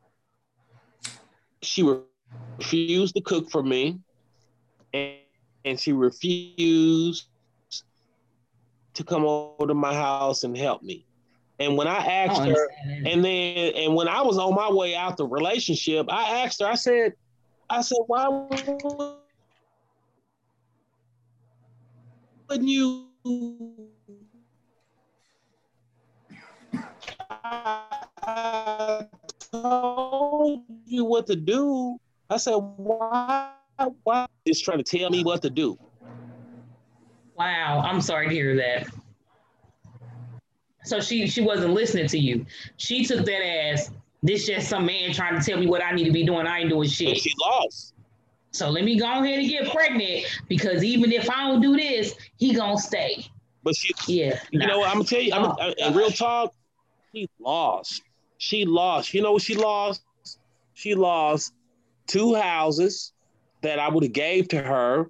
she refused to cook for me. And, and she refused to come over to my house and help me. And when I asked her, and then, and when I was on my way out the relationship, I asked her, I said, I said, why wouldn't you? I told you what to do. I said, why, why is trying to tell me what to do? Wow, I'm sorry to hear that. So she she wasn't listening to you. She took that as, this just some man trying to tell me what I need to be doing. I ain't doing shit. And she lost. So let me go ahead and get pregnant, because even if I don't do this, he gonna stay. But she, yeah, you nah. know what, I'm gonna tell you, I'm, Oh, I, in real talk, she lost. She lost. You know what she lost? She lost two houses that I would have gave to her.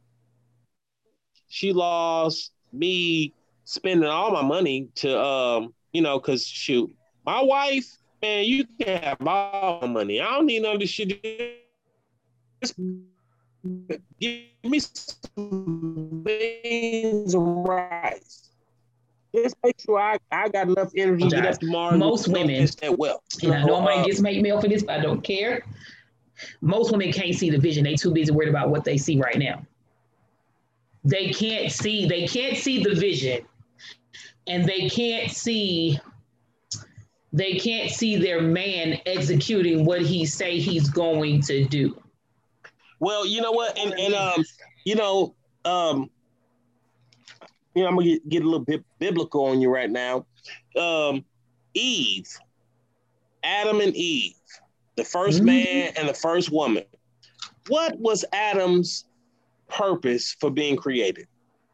She lost me spending all my money to, um, you know, because shoot, my wife, man, you can have all my money. I don't need none of this shit. Just give me some beans and rice. Just make sure I, I got enough energy to get up tomorrow. Most women, that well. and I know I might get some hate mail for this, but I don't care. Most women can't see the vision. They too busy worried about what they see right now. They can't see, they can't see the vision. And they can't see, they can't see their man executing what he say he's going to do. Well, you know what, and, and um, you know, um, you know, I'm gonna get, get a little bit biblical on you right now. Um, Eve, Adam and Eve, the first mm-hmm. man and the first woman. What was Adam's purpose for being created?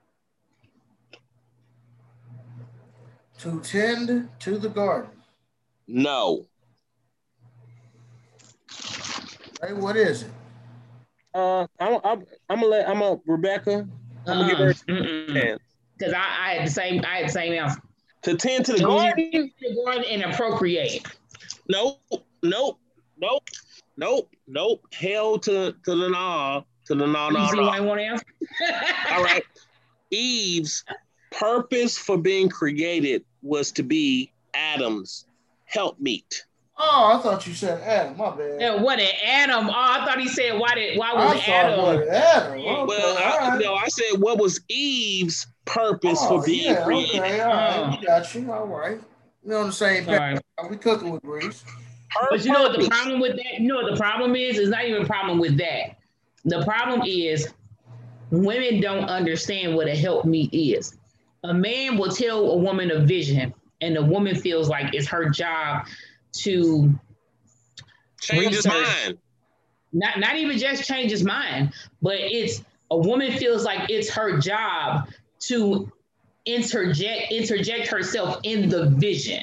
To tend to the garden. No. Hey, what is it? Uh, I'm, I'm, I'm gonna let I'm a Rebecca. I'm gonna give her a chance. Because I, I had the same I had the same answer. To tend to the garden, the garden and appropriate. Nope, nope, nope, nope, nope. Hell to to the no, to the no, no, you see no. why I want to answer? All right. Eve's purpose for being created was to be Adam's helpmeet. Oh, I thought you said Adam. My bad. Yeah, what an Adam? Oh, I thought he said why did why was I Adam? What Adam? Okay, well, I, right. no, I said what was Eve's purpose oh, for being yeah, created? Okay, all right, we got you. All right, we're on the same page. Right. We cooking with grease. Her but you know what the problem with that? You know what the problem is? It's not even a problem with that. The problem is women don't understand what a helpmeet is. A man will tell a woman a vision, and the woman feels like it's her job to change his mind. Not, not even just change his mind, but it's a woman feels like it's her job to interject, interject herself in the vision.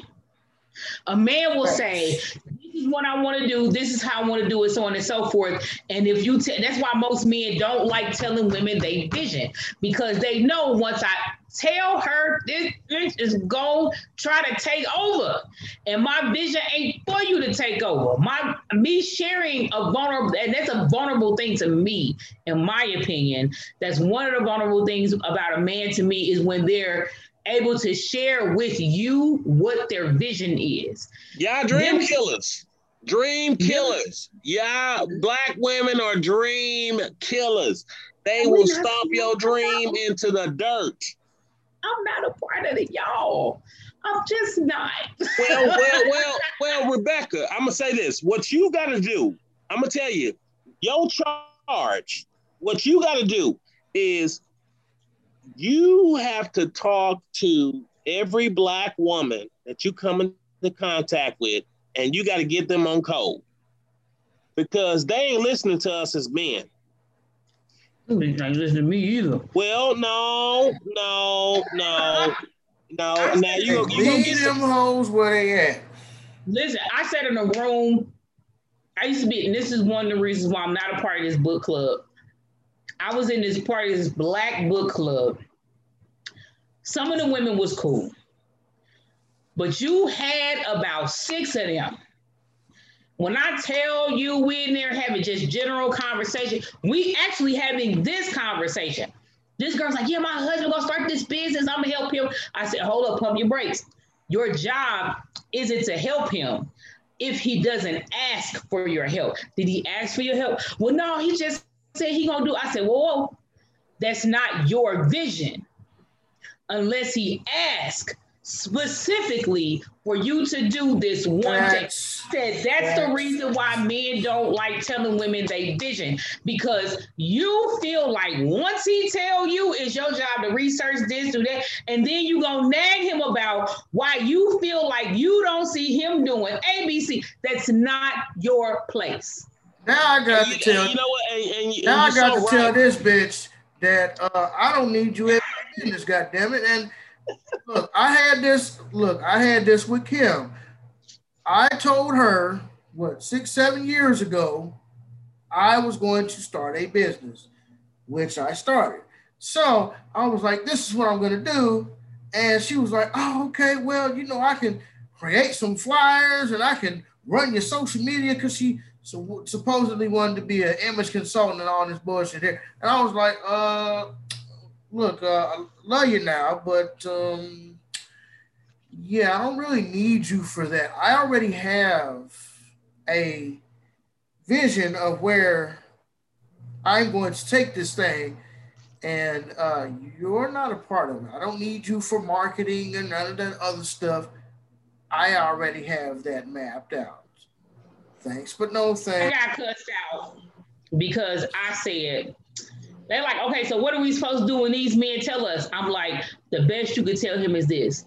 A man will say, this is what I want to do, this is how I want to do it, so on and so forth. And if you, t- that's why most men don't like telling women they vision, because they know once I tell her this, this is going to try to take over. And my vision ain't for you to take over. My me sharing a vulnerable, and that's a vulnerable thing to me, in my opinion. That's one of the vulnerable things about a man to me is when they're able to share with you what their vision is. Yeah, dream Them, killers. Dream killers. Yeah, black women are dream killers. They will stomp your dream into the dirt. I'm not a part of it, y'all. I'm just not. well, well, well, well, Rebecca, I'm gonna say this. What you gotta do, I'm gonna tell you, your charge, what you gotta do is you have to talk to every black woman that you come into contact with, and you gotta get them on code. Because they ain't listening to us as men. They ain't listening to me either. Well, no, no, no, no. I Now you Hey, you gonna leave get them some. hoes where they at. Listen, I sat in a room. I used to be, and this is one of the reasons why I'm not a part of this book club. I was in this part of this black book club. Some of the women was cool, but you had about six of them. When I tell you we in there having just general conversation, we actually having this conversation. This girl's like, yeah, my husband gonna start this business. I'm gonna help him. I said, hold up, pump your brakes. Your job isn't to help him if he doesn't ask for your help. Did he ask for your help? Well, no, he just said he gonna do. I said, whoa, whoa, that's not your vision unless he asks specifically for you to do this one thing. Said that's, that's the reason why men don't like telling women they vision, because you feel like once he tell you it's your job to research this, do that, and then you gonna nag him about why you feel like you don't see him doing A B C. That's not your place. Now I got and to you, tell you know what? And, and, and now I got so to right. tell this bitch that uh, I don't need you in business, goddammit. And look, I had this. Look, I had this with Kim. I told her what six, seven years ago, I was going to start a business, which I started. So I was like, "This is what I'm going to do," and she was like, "Oh, okay. Well, you know, I can create some flyers and I can run your social media," because she so, supposedly wanted to be an image consultant and all this bullshit here. And I was like, "Uh, look, uh, I love you now, but um." Yeah, I don't really need you for that. I already have a vision of where I'm going to take this thing, and uh, you're not a part of it. I don't need you for marketing and none of that other stuff. I already have that mapped out. Thanks, but no thanks. I got cussed out because I said, they're like, okay, so what are we supposed to do when these men tell us? I'm like, the best you could tell him is this.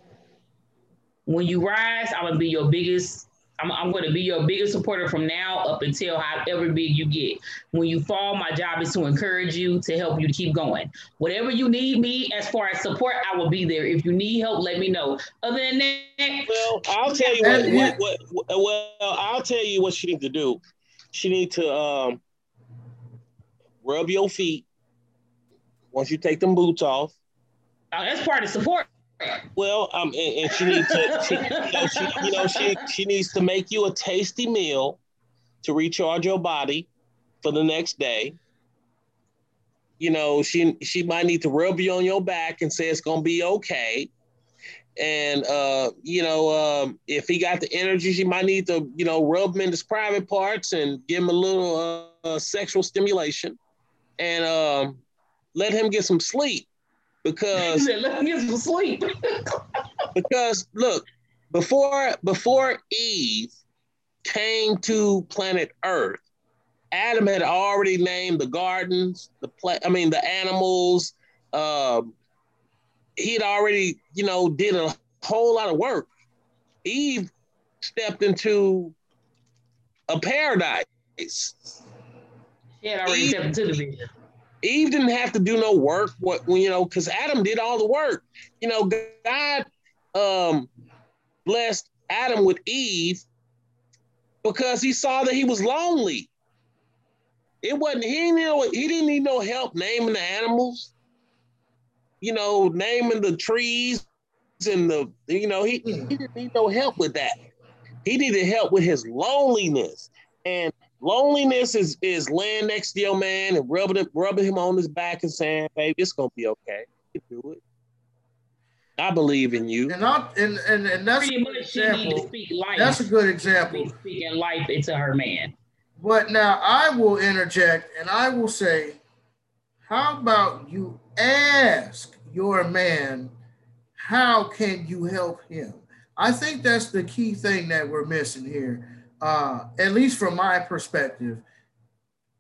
When you rise, I'm gonna be your biggest, I'm, I'm gonna be your biggest supporter from now up until however big you get. When you fall, my job is to encourage you, to help you to keep going. Whatever you need me as far as support, I will be there. If you need help, let me know. Other than that, well, I'll tell you what, what, what, what well, I'll tell you what she needs to do. She needs to um, rub your feet once you take them boots off. Oh, that's part of support. Well, um, and, and she needs to, she, you know, she, you know, she she needs to make you a tasty meal to recharge your body for the next day. You know, she she might need to rub you on your back and say it's gonna be okay. And uh, you know, um, if he got the energy, she might need to, you know, rub him in his private parts and give him a little uh, sexual stimulation, and um, let him get some sleep. Because let me get some sleep. because look, before before Eve came to planet Earth, Adam had already named the gardens, the pla- I mean the animals. Um, he had already, you know, did a whole lot of work. Eve stepped into a paradise. She had already Eve, stepped into the vision. Eve didn't have to do no work, what you know, because Adam did all the work. You know, God um, blessed Adam with Eve because he saw that he was lonely. It wasn't he didn't know he didn't need no help naming the animals, you know, naming the trees and the you know he, he didn't need no help with that. He needed help with his loneliness. And loneliness is is laying next to your man and rubbing him, rubbing him on his back and saying, "Baby, it's gonna be okay. You can do it. I believe in you." And I, and, and and that's pretty much she need to speak life. That's a good example. Speaking life into her man. But now I will interject and I will say, how about you ask your man, how can you help him? I think that's the key thing that we're missing here. Uh, at least from my perspective,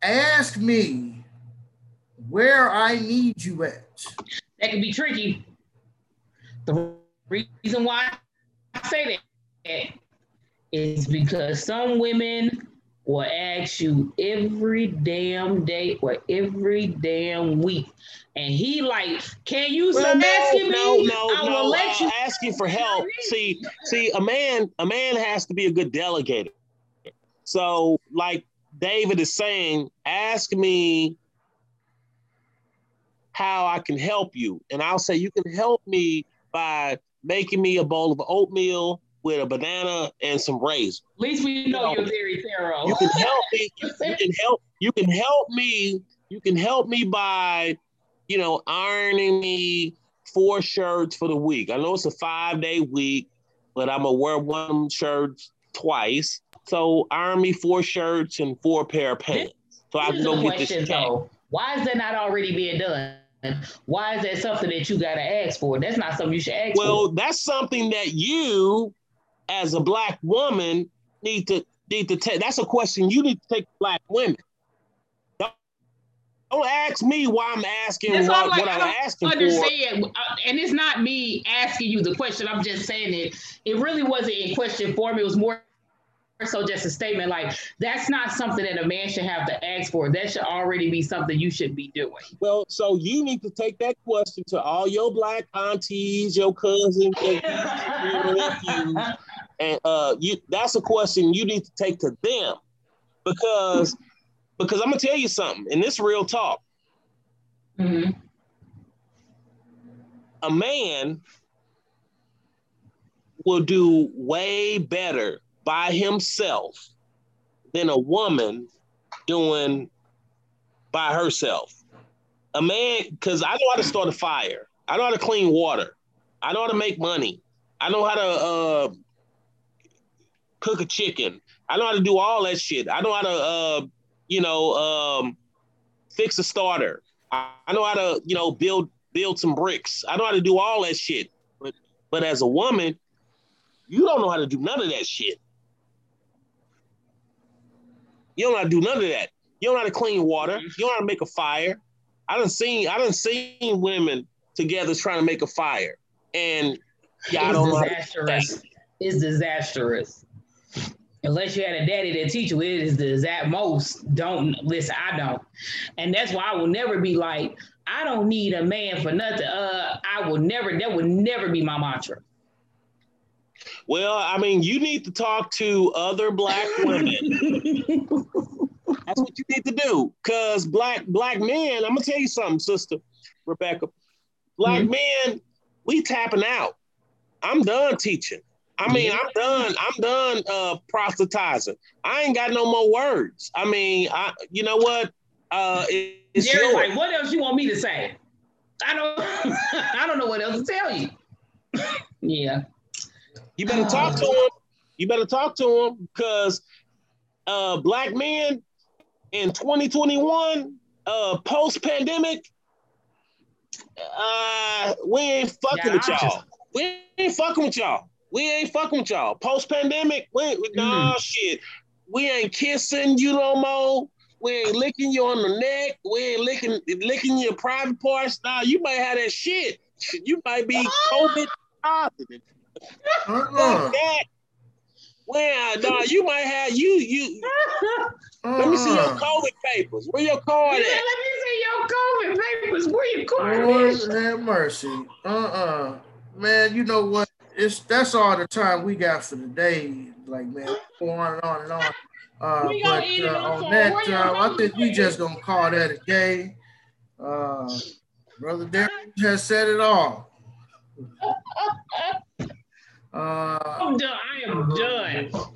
ask me where I need you at. That can be tricky. The reason why I say that is because some women will ask you every damn day or every damn week. And he like, can you well, stop no, asking no, me? no, I no. will let uh, you asking for help. See, see, a man, a man has to be a good delegator. So, like David is saying, ask me how I can help you, and I'll say you can help me by making me a bowl of oatmeal with a banana and some raisins. At least we know, You know, you're very thorough. You can help me. You, you can help. You can help me. You can help me by, you know, ironing me four shirts for the week. I know it's a five day week, but I'm gonna wear one shirt twice. So iron me four shirts and four pair of pants. So I can go get this check. Though. Why is that not already being done? Why is that something that you gotta ask for? That's not something you should ask well, for. Well, that's something that you, as a Black woman, need to need to take. That's a question you need to take to Black women. Don't, don't ask me why I'm asking That's what, like, what I'm asking understand. for. Uh, and it's not me asking you the question. I'm just saying it. It really wasn't a question for me. It was more so just a statement. Like, that's not something that a man should have to ask for. That should already be something you should be doing. Well, so you need to take that question to all your Black aunties, your cousins, your nephews, and uh, you. That's a question you need to take to them, because because I'm gonna tell you something, and this real talk. Mm-hmm. A man will do way better by himself than a woman doing by herself. A man, because I know how to start a fire. I know how to clean water. I know how to make money. I know how to uh, cook a chicken. I know how to do all that shit. I know how to, uh, you know, um, fix a starter. I, I know how to, you know, build build some bricks. I know how to do all that shit. But but as a woman, you don't know how to do none of that shit. You don't know how to do none of that. You don't know how to clean water. You don't know how to make a fire. I done seen I done seen women together trying to make a fire, and y'all don't know how to do that. It's disastrous. Unless you had a daddy that teach you, it is the at most. Don't listen. I don't, and that's why I will never be like, I don't need a man for nothing. Uh, I will never. That would never be my mantra. Well, I mean, you need to talk to other Black women. That's what you need to do, because black black men. I'm gonna tell you something, sister Rebecca. Black mm-hmm. men, we tapping out. I'm done teaching. I mean, yeah. I'm done. I'm done uh, proselytizing. I ain't got no more words. I mean, I. You know what? Uh, it, it's Jerry's like, what else you want me to say? I don't. I don't know what else to tell you. Yeah. You better talk to him. You better talk to him, because uh, Black men in twenty twenty-one, uh, post-pandemic, uh, we ain't fucking yeah, with y'all. Just... We ain't fucking with y'all. We ain't fucking with y'all. Post-pandemic, we ain't, mm. no shit. We ain't kissing you no more. We ain't licking you on the neck. We ain't licking licking your private parts. Nah, you might have that shit. You might be COVID positive. Uh-uh. Fuck that. Well, nah, you might have you you. Uh-uh. Let me see your COVID papers. Where your card yeah, at? Let me see your COVID papers. Where your card Lord is? have mercy. Uh-uh. Man, you know what? It's that's all the time we got for today. Like, man, go on and on and on. Uh, but uh, on that, uh, I think we just gonna call that a day. Uh, Brother Derek has said it all. Uh, I'm done. I am done.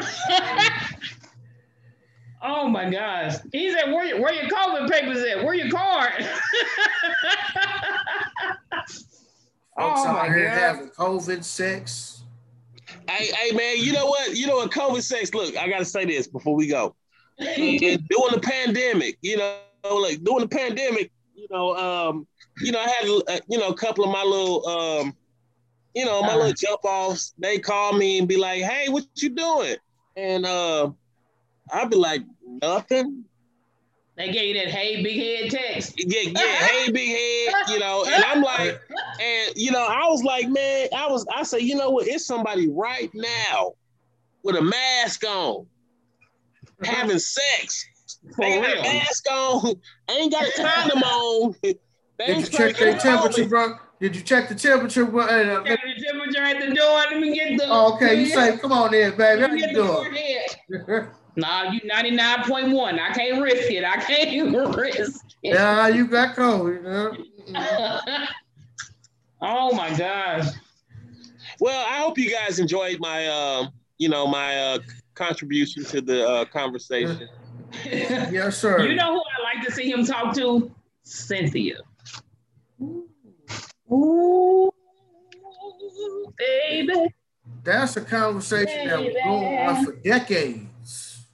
Oh my gosh. He said, where, where your COVID papers at? Where your card? Folks oh out here God. having COVID sex. Hey, hey, man, you know what? You know what COVID sex, look, I got to say this before we go. And during the pandemic, you know, like during the pandemic, you know, um, you know, I had, uh, you know, a couple of my little, um, you know, my uh, little jump offs. They call me and be like, hey, what you doing? And uh, I'd be like, nothing. They gave you that hey big head text. Yeah, yeah, hey big head, you know, and I'm like, and you know, I was like, man, I was, I say, you know what? It's somebody right now with a mask on, having sex. For They got real. a mask on, ain't got a condom on. They Did ain't you check their temperature, bro? Did you check the temperature, bro? Hey, uh, Check the temperature at the door. Let me get the. oh, okay, you say, come on in, baby. Let How me you get the doing? forehead. Nah, you ninety-nine point one. I can't risk it. I can't risk it. Yeah, you got COVID. You know? Oh my gosh. Well, I hope you guys enjoyed my, uh, you know, my uh, contribution to the uh, conversation. Yes, sir. You know who I like to see him talk to? Cynthia. Ooh, baby. That's a conversation that will go on for decades.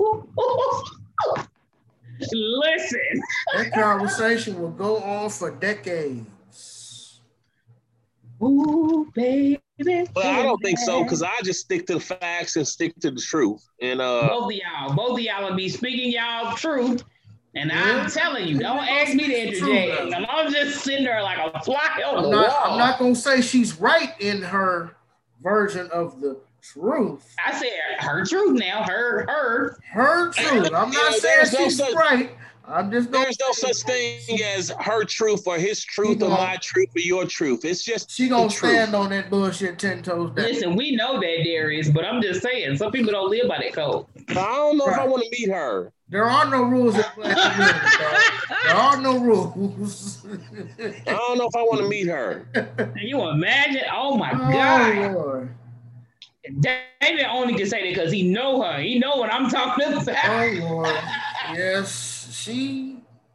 Listen. That conversation will go on for decades. Ooh, baby. Well, I don't think so, because I just stick to the facts and stick to the truth. And uh, both of y'all, both of y'all will be speaking y'all truth. And Yeah. I'm telling you, don't ask me to interject. And I'm just sitting there like a fly on I'm the not, wall. I'm not going to say she's right in her version of the truth. I said her truth now, her, her. Her truth. I'm You not know, saying there's no she's such- right. I'm just gonna there's no say such thing as her truth or his truth or gonna- my truth or your truth. It's just she gonna the truth. stand on that bullshit ten toes down. Listen, we know that, Darius, but I'm just saying, some people don't live by that code. I don't know if I Right. want to meet her. There are no rules in Black community, dog. There are no rules. I don't know if I want to meet her. Can you imagine? Oh my Oh God. Lord. David only can say that because he know her. He know what I'm talking about. Oh Lord. Yes, she.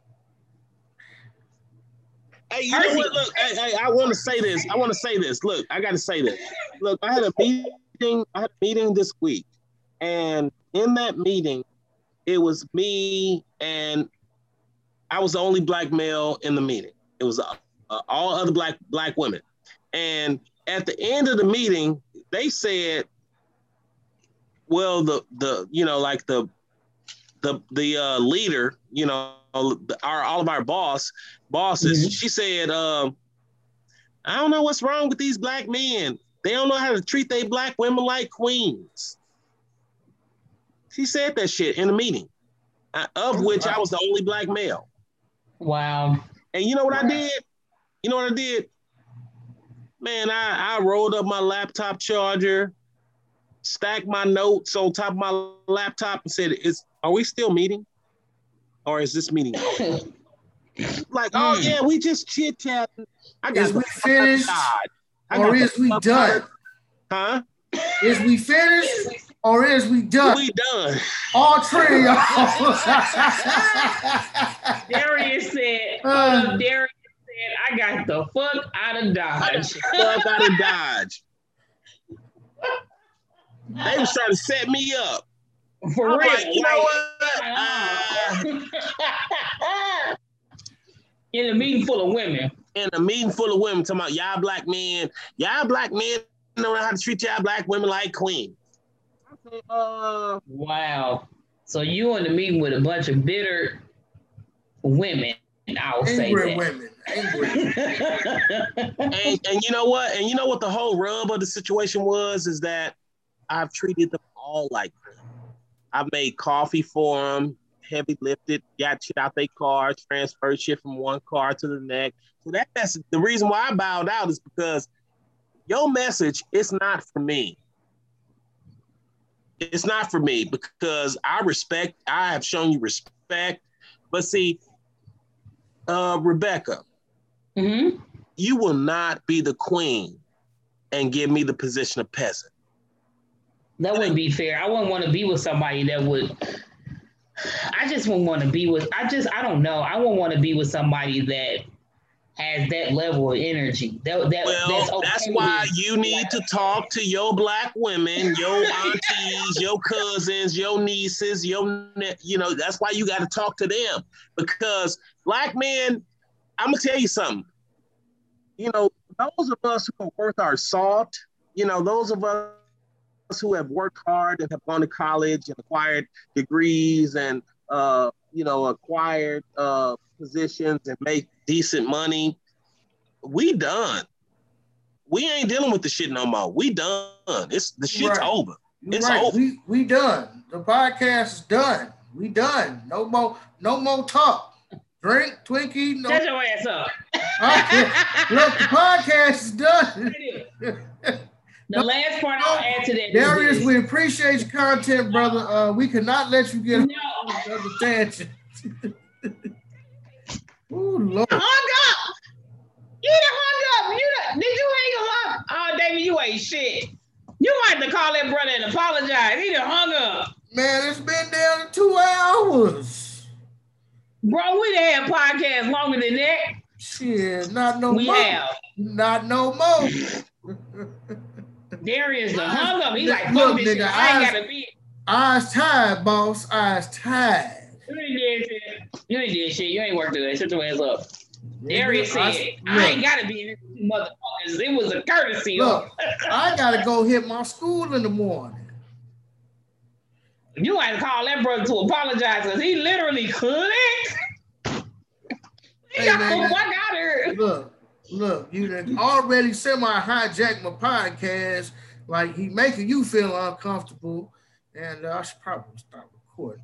Hey, you know what? Look, hey, hey, I want to say this. I want to say this. Look, I got to say this. Look, I had a meeting. I had a meeting this week, and in that meeting, it was me and I was the only black male in the meeting. It was uh, uh, all other black black women, and at the end of the meeting, they said, "Well, the the you know like the the the uh, leader, you know, our all of our boss bosses, mm-hmm. she said, um, I don't know what's wrong with these black men. They don't know how to treat their black women like queens." She said that shit in a meeting, of oh, which wow. I was the only black male. Wow. And you know what wow. I did? You know what I did? Man, I, I rolled up my laptop charger, stacked my notes on top of my laptop and said, "Is are we still meeting? Or is this meeting over?" Like, oh, mm. yeah, we just chit-chatting. I got is we finished or is we done? Huh? Is we finished or is we done? We done. All three of y'all. Darius said, uh, Darius said, I got the fuck out of Dodge. Fuck out of Dodge. They was trying to set me up. For I'm real. Like, you know what? Uh, in a meeting full of women. In a meeting full of women talking about y'all black men, y'all black men don't know how to treat y'all black women like queens. Uh, wow. So you in the meeting with a bunch of bitter women, I'll say that. Women. Angry women. and, and you know what? And you know what the whole rub of the situation was is that I've treated them all like that. I've made coffee for them, heavy lifted, got shit out their car, transferred shit from one car to the next. So that, that's the reason why I bowed out is because your message is not for me. It's not for me because I respect, I have shown you respect. But see, uh, Rebecca, mm-hmm. you will not be the queen and give me the position of peasant. That wouldn't be fair. I wouldn't want to be with somebody that would, I just wouldn't want to be with, I just, I don't know. I wouldn't want to be with somebody that has that level of energy. That, that, well, that's, okay that's why you need to talk to your black women, your aunties, your cousins, your nieces, your, you know, that's why you got to talk to them. Because black men, I'm going to tell you something. You know, those of us who are worth our salt, you know, those of us who have worked hard and have gone to college and acquired degrees and, uh, you know, acquired uh, positions and make decent money. We done. We ain't dealing with the shit no more. We done. It's the shit's right. over. You're it's right. over. We we done. The podcast is done. We done. No more. No more talk. Drink Twinkie. No. Shut your ass up. Look, the podcast is done. The no, last part no, I'll add to that. Darius, we appreciate your content, brother. Uh, we cannot let you get no. on another tangent. Ooh, Lord. Hung up. You done hung up. You done, did you hang him up? Oh, David, you ain't shit. You might have to call that brother and apologize. He done hung up. Man, it's been down to two hours. Bro, we done had podcasts longer than that. Shit, not no we more. We have. Not no more. Darius done hung up. He's like, fuck this shit. I ain't gotta be. Eyes tired, boss. Eyes tired. You ain't did shit. You ain't did shit. You ain't worked today. Shut your ass up. Yeah, Darius said, I, I ain't gotta be in this motherfuckers. It was a courtesy. Look, I gotta go hit my school in the morning. You had to call that brother to apologize because he literally clicked. He Hey, got man, the fuck out of here. Look, look, you done already semi-hijacked my podcast. Like he making you feel uncomfortable. And uh, I should probably stop recording.